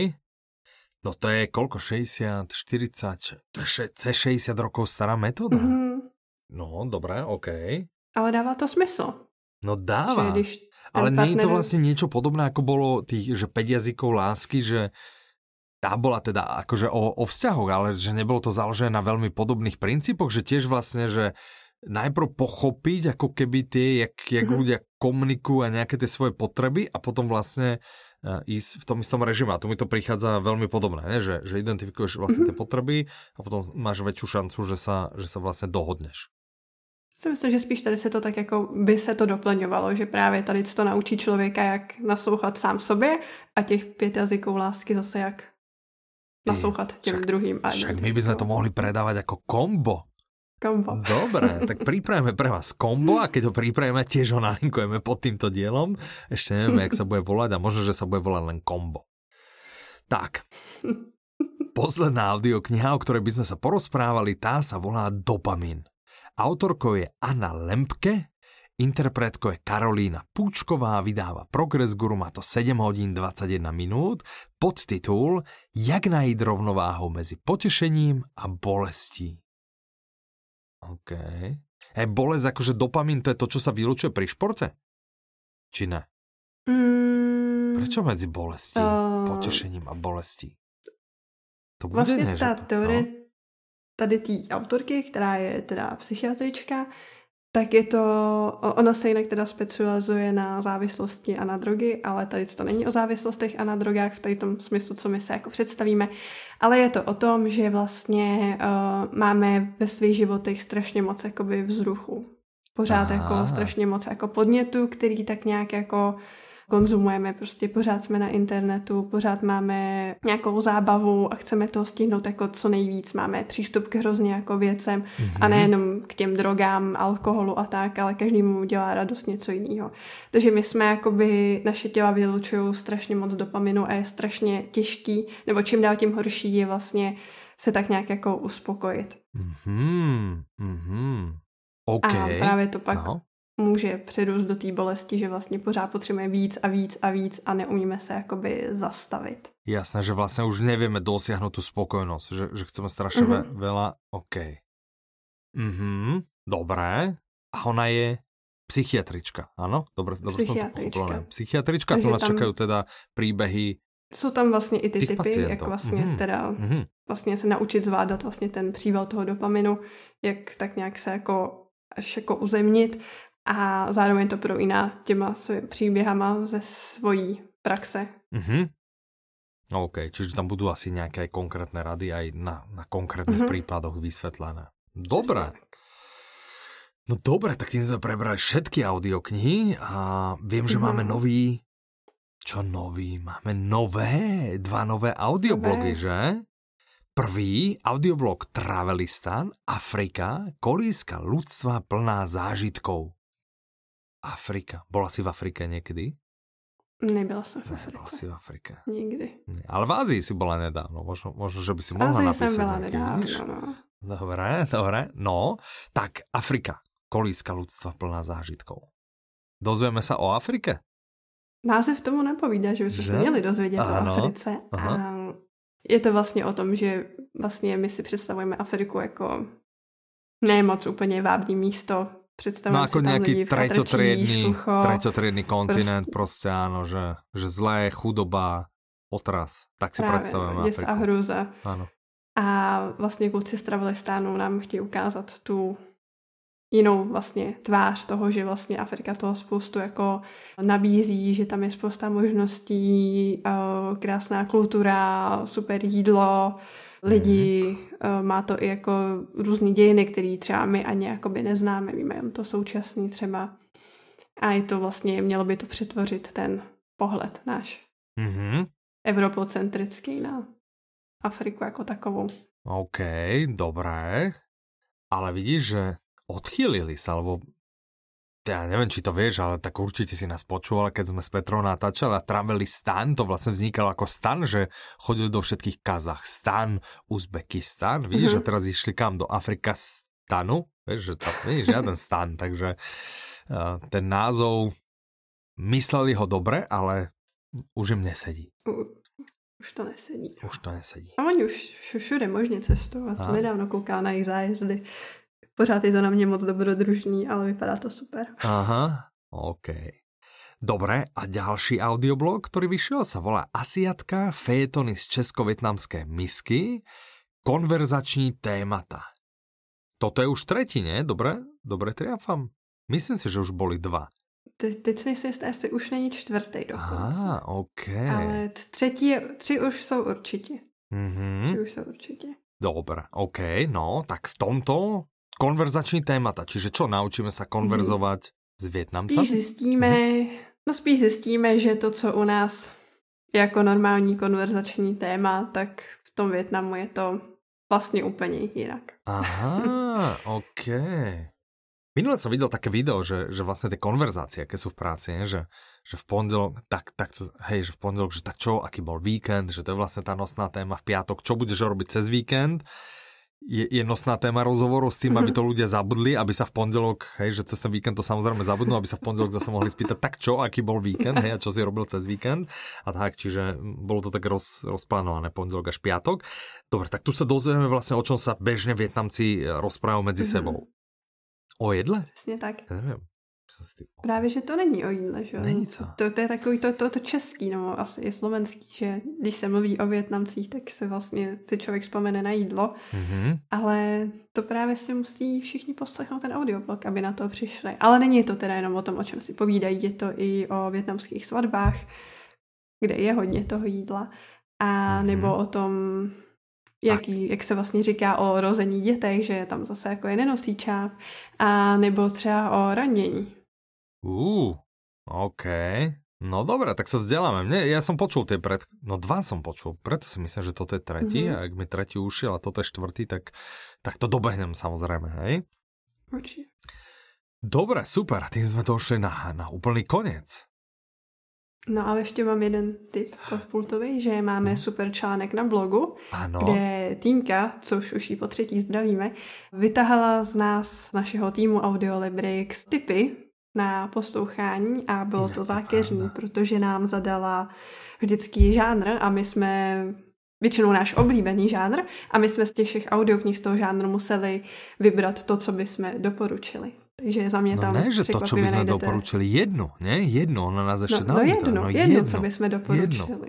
No to je koľko? šesťdesiat, štyridsať, to je cez šesťdesiat rokov stará metóda. Mm-hmm. No, dobré, OK. Ale dává to smysl. No dáva, ale partner... nie je to vlastne niečo podobné, ako bolo tých, že päť jazykov lásky, že tá bola teda akože o, o vzťahoch, ale že nebolo to založené na veľmi podobných princípoch, že tiež vlastne, že najprv pochopiť ako keby tie, jak, jak mm-hmm. ľudia komunikujú a nejaké tie svoje potreby a potom vlastne uh, ísť v tom istom režime. A tu mi to prichádza veľmi podobné, ne? Že, že identifikuješ vlastne mm-hmm. tie potreby a potom máš väčšiu šancu, že sa, že sa vlastne dohodneš. Si myslím, že spíš tady se to tak jako by se to doplňovalo, že právě tady to naučí člověka, jak naslouchat sám sobě a těch pět jazyků lásky zase jak naslouchat těm však, druhým. A však my by sme to mohli predávať ako kombo. Kombo. Dobre, tak pripravíme pre vás kombo a keď ho pripravíme, tiež ho nalinkujeme pod týmto dielom. Ešte nevieme, jak sa bude volať a možno, že sa bude volať len kombo. Tak. Posledná audiokniha, o ktorej by sme sa porozprávali, tá sa volá Dopamin. Autorkou je Anna Lempke, interpretkou je Karolína Púčková, vydáva Progress Guru, má to sedem hodín dvadsaťjeden minút, podtitul Jak najít rovnováhu mezi potešením a bolestí. OK. Je bolesť akože dopamin, to je to, čo sa vylučuje pri športe? Či ne? Mm, Prečo medzi bolestí, uh, potešením a bolestí? To bude vlastne ne, tá že... teorie no? tady té autorky, která je teda psychiatrička, tak je to, ona se jinak teda specializuje na závislosti a na drogy, ale tady to není o závislostech a na drogách v tady tom smyslu, co my se jako představíme, ale je to o tom, že vlastně uh, máme ve svých životech strašně moc jakoby vzruchu. Pořád Aha. jako strašně moc jako podnětů, který tak nějak jako konzumujeme, prostě pořád jsme na internetu, pořád máme nějakou zábavu a chceme toho stihnout jako co nejvíc, máme přístup k hrozně jako věcem mm-hmm. a nejenom k těm drogám, alkoholu a tak, ale každému dělá radost něco jiného. Takže my jsme jakoby, naše těla vylučují strašně moc dopaminu a je strašně těžký, nebo čím dál tím horší je vlastně se tak nějak jako uspokojit. Mm-hmm. Mm-hmm. Okay. A právě to pak no. může přerůst do té bolesti, že vlastně pořád potřebujeme víc a víc a víc a neumíme se jakoby zastavit. Jasné, že vlastně už nevieme dosiahnuť tú spokojnosť, že, že chceme strašne mm-hmm. veľa. OK. Mhm, dobré. A ona je psychiatrička, áno? Dobre, dobre som to pochopila. Psychiatrička, tu nás tam čakajú teda príbehy. Jsou tam vlastně i ty typy, pacientů. jak vlastně mm-hmm. teda mm-hmm. vlastně se naučit zvládat vlastně ten příval toho dopaminu, jak tak nějak se jako až jako uzemnit a zároveň to projíná těma příběhama ze svojí praxe. Mm-hmm. OK, čiže tam budú asi nejaké konkrétne rady aj na, na konkrétnych mm-hmm. prípadoch vysvetlené. Dobre. No dobre, tak tým sme prebrali všetky audioknihy a viem, že mm-hmm. máme nový... Čo nový? Máme nové, dva nové audioblogy, nové. Že? Prvý, audioblog Travelistan, Afrika, kolíska ľudstva plná zážitkov. Afrika. Bola si v Afrike niekedy? Nebyla som v Africe. Nebyla si v Afrike. Nikdy. Nie, ale v Ázii si bola nedávno. Možno, možno že by si mohla napísať. Ázii som bola nejaký, nedávno, no. Dobre, dobre. No, tak Afrika, kolíska ľudstva plná zážitkov. Dozvieme sa o Afrike? Název tomu napovídá, že bychom se měli dozvědět ano. o Africe. Aha. A je to vlastně o tom, že vlastně my si představujeme Afriku jako ne moc úplně vábný místo. Představujeme no, ako si tam nejaký lidi v treťotriedny, sucho. treťotriedny kontinent, proste, proste áno, že, že zlé, chudoba, otras. Tak si Právě, predstavujeme Afriku. Děs a hruza. Áno. A vlastně kluci z Travelistánu nám chtějí ukázat tu jinou vlastně tvář toho, že vlastně Afrika toho spoustu jako nabízí, že tam je spousta možností, krásná kultura, super jídlo, lidi, mm. má to i jako různý dějiny, který třeba my ani jakoby neznáme, víme jen to současný třeba. A je to vlastně, mělo by to přetvořit ten pohled náš. Mm-hmm. Evropocentrický na Afriku jako takovou. OK, dobré. Ale vidíš, že odchýlili sa, lebo ja neviem, či to vieš, ale tak určite si nás počúval, keď sme s Petrou natáčali a Travelistan, to vlastne vznikalo ako stan, že chodili do všetkých Kazachstan, Uzbekistan, vidíš, mm-hmm. a teraz išli kam? Do Afrikastanu, vieš, že tam nie je žiaden stan, takže uh, ten názov mysleli ho dobre, ale už im nesedí. Uh. Už to nesedí. Už to nesedí. A oni už všude možně cestují. Já jsem nedávno koukala na jejich zájezdy. Pořád je to na mě moc dobrodružný, ale vypadá to super. Aha, OK. Dobre, a ďalší audioblog, ktorý vyšiel, sa volá Asiatka, fejetony z česko-vietnamské misky, konverzační témata. Toto je už tretí, nie? Dobre? Dobre triafam? Myslím si, že už boli dva. Te, teď si myslím, že asi už není čtvrtý dokonce. Ah, OK. Ale třetí, tři už jsou určitě. Mm-hmm. Tři už jsou určitě. Dobre, OK, no, tak v tomto konverzační témata, čiže čo, naučíme sa konverzovať mm. s Vietnamcami? Spíš zjistíme, mm. no spíš zjistíme, že to, co u nás je jako normální konverzační téma, tak v tom Vietnamu je to vlastně úplně jinak. Aha, OK. Minule som videl také video, že, že vlastne tie konverzácie, aké sú v práci, nie? Že, že v pondelok, tak, tak, hej, že v pondelok, že tak čo, aký bol víkend, že to je vlastne tá nosná téma v piatok, čo budeš robiť cez víkend, je, je nosná téma rozhovoru s tým, aby to ľudia zabudli, aby sa v pondelok, hej, že cez ten víkend to samozrejme zabudnú, aby sa v pondelok zase mohli spýtať, tak čo, aký bol víkend, hej, a čo si robil cez víkend a tak, čiže bolo to tak roz, rozplánované pondelok až piatok. Dobre, tak tu sa dozvieme vlastne, o čom sa bežne Vietnamci rozprávajú medzi sebou. O jedle? Přesně tak. Já nevím. Právě, že to není o jídle, že? Není to. To, to je takový to, to, to český, nebo asi i slovenský, že když se mluví o Vietnamcích, tak se vlastně si člověk vzpomene na jídlo, mm-hmm. ale to právě si musí všichni poslechnout ten audioblog, aby na to přišli. Ale není to teda jenom o tom, o čem si povídají, je to i o vietnamských svatbách, kde je hodně toho jídla, a mm-hmm. nebo o tom, jaký, jak se vlastně říká o rození dětech, že tam zase jako je nenosíčák, a nebo třeba o ranění. Uh, OK. No dobré, tak sa vzdeláme. Mne, ja som počul tie pred... No dva som počul, preto si myslím, že toto je tretí, mm-hmm. a ak mi tretí ušiel a toto je štvrtý, tak, tak to dobehnem samozrejme, hej? Určite. Dobre, super, tým sme došli na, na úplný koniec. No ale ještě mám jeden tip podpultový, že máme no. super článek na blogu, ano. kde Týmka, což už ji po třetí zdravíme, vytahala z nás, z našeho týmu Audiolibrix, tipy na poslouchání a bylo to zákeřní, protože nám zadala vždycky žánr a my jsme, většinou náš oblíbený žánr, a my jsme z těch všech audioknih z toho žánru museli vybrat to, co bychom doporučili. Takže za mě no tam ne, že to, čo by sme najdete... doporučili, jedno, ne? Jedno, ona nás ešte no, no jedno, no jedno, jedno, co by sme doporučili.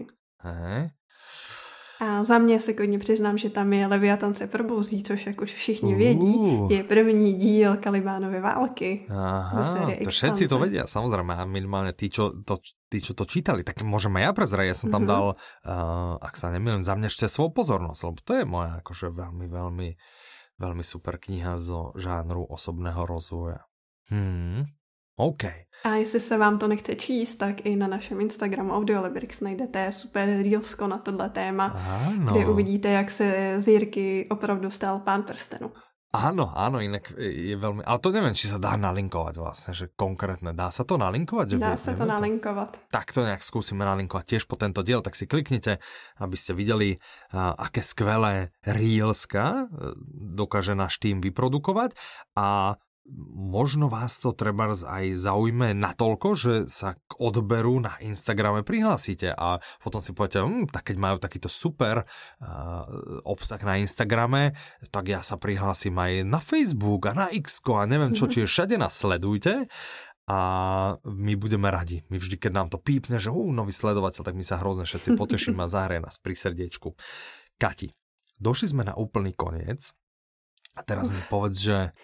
A za mě se kodně přiznám, že tam je Leviatan se probouzí, což jak už všichni uh. vědí, je první díl Kalibánovy války. Aha, to všetci to vedia, samozrejme, a minimálne tí, čo to, tí, čo to čítali, tak môžeme ja prezrať, ja som tam uh-huh. dal, uh, ak sa nemýlim, Za mňa ešte svou pozornosť, lebo to je moja akože veľmi, veľmi veľmi super kniha zo žánru osobného rozvoja. Hmm, OK. A jestli se vám to nechce číst, tak i na našem Instagramu Audiolibrix najdete super reelsko na tohle téma, ano. kde uvidíte, jak se z Jirky opravdu stal pán prstenu. Áno, áno, inak je veľmi... Ale to neviem, či sa dá nalinkovať vlastne, že konkrétne. Dá sa to nalinkovať? Že dá sa to nalinkovat. Tak to nejak skúsime nalinkovať tiež po tento diel, tak si kliknite, aby ste videli, uh, aké skvelé reelska dokáže náš tým vyprodukovať, a možno vás to treba aj zaujme natoľko, že sa k odberu na Instagrame prihlásite a potom si poviete, hm, tak keď majú takýto super uh, obsah na Instagrame, tak ja sa prihlásim aj na Facebook a na X-ko a neviem čo, čiže všade nás sledujte a my budeme radi. My vždy, keď nám to pípne, že uh, nový sledovateľ, tak my sa hrozne všetci potešíme a zahraje nás pri srdiečku. Kati, došli sme na úplný koniec a teraz mi povedz, že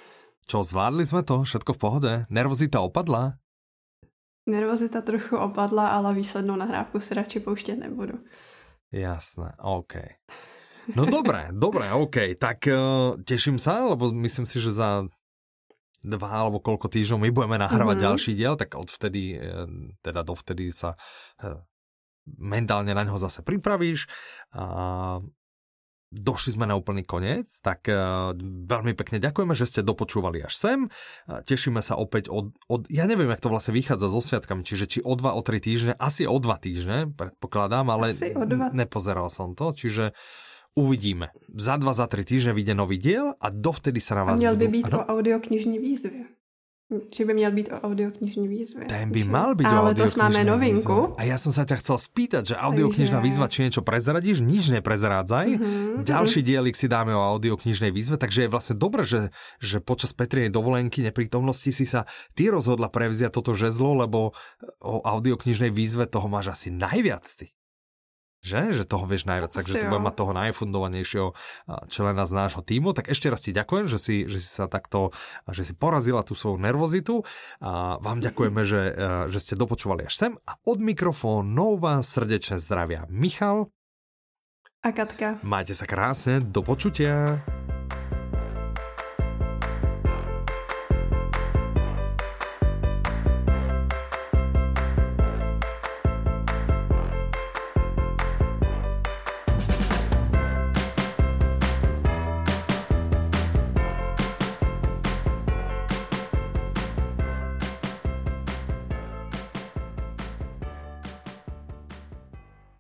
Čo, zvládli sme to? Všetko v pohode? Nervozita opadla? Nervozita trochu opadla, ale výslednou nahrávku si radši pouštět nebudu. Jasné, OK. No dobré, dobré, OK. Tak uh, teším sa, lebo myslím si, že za dva alebo koľko týždňov my budeme nahrávať mm-hmm. ďalší diel, tak odvtedy, teda dovtedy sa mentálne na ňo zase pripravíš. A došli sme na úplný koniec, tak uh, veľmi pekne ďakujeme, že ste dopočúvali až sem. Uh, tešíme sa opäť od, od... Ja neviem, jak to vlastne vychádza so sviatkami, čiže či o dva, o tri týždne, asi o dva týždne, predpokladám, ale dva... nepozeral som to, čiže uvidíme. Za dva, za tri týždne vyjde nový diel a dovtedy sa na vás budú... Měl by budú... být ano? O audioknižní výzvě. Či by měl být o audioknižní výzvě. Ten by mal byť ale o audioknižnej výzve. Ale to máme novinku. Výzve. A ja som sa ťa chcel spýtať, že audioknižná takže... výzva, či niečo prezradíš, nič neprezrádzaj. Mm-hmm. Ďalší dielik si dáme o audioknižnej výzve, takže je vlastne dobré, že, že počas Petrinej dovolenky neprítomnosti si sa ty rozhodla prevziať toto žezlo, lebo o audioknižnej výzve toho máš asi najviac ty. Že? Že toho vieš najviac, takže tu budem mať toho najfundovanejšieho člena z nášho tímu. Tak ešte raz ti ďakujem, že si, že si sa takto, že si porazila tú svoju nervozitu. A vám ďakujeme, že, že ste dopočúvali až sem. A od mikrofónov vás srdečne zdravia Michal a Katka. Majte sa krásne, do počutia.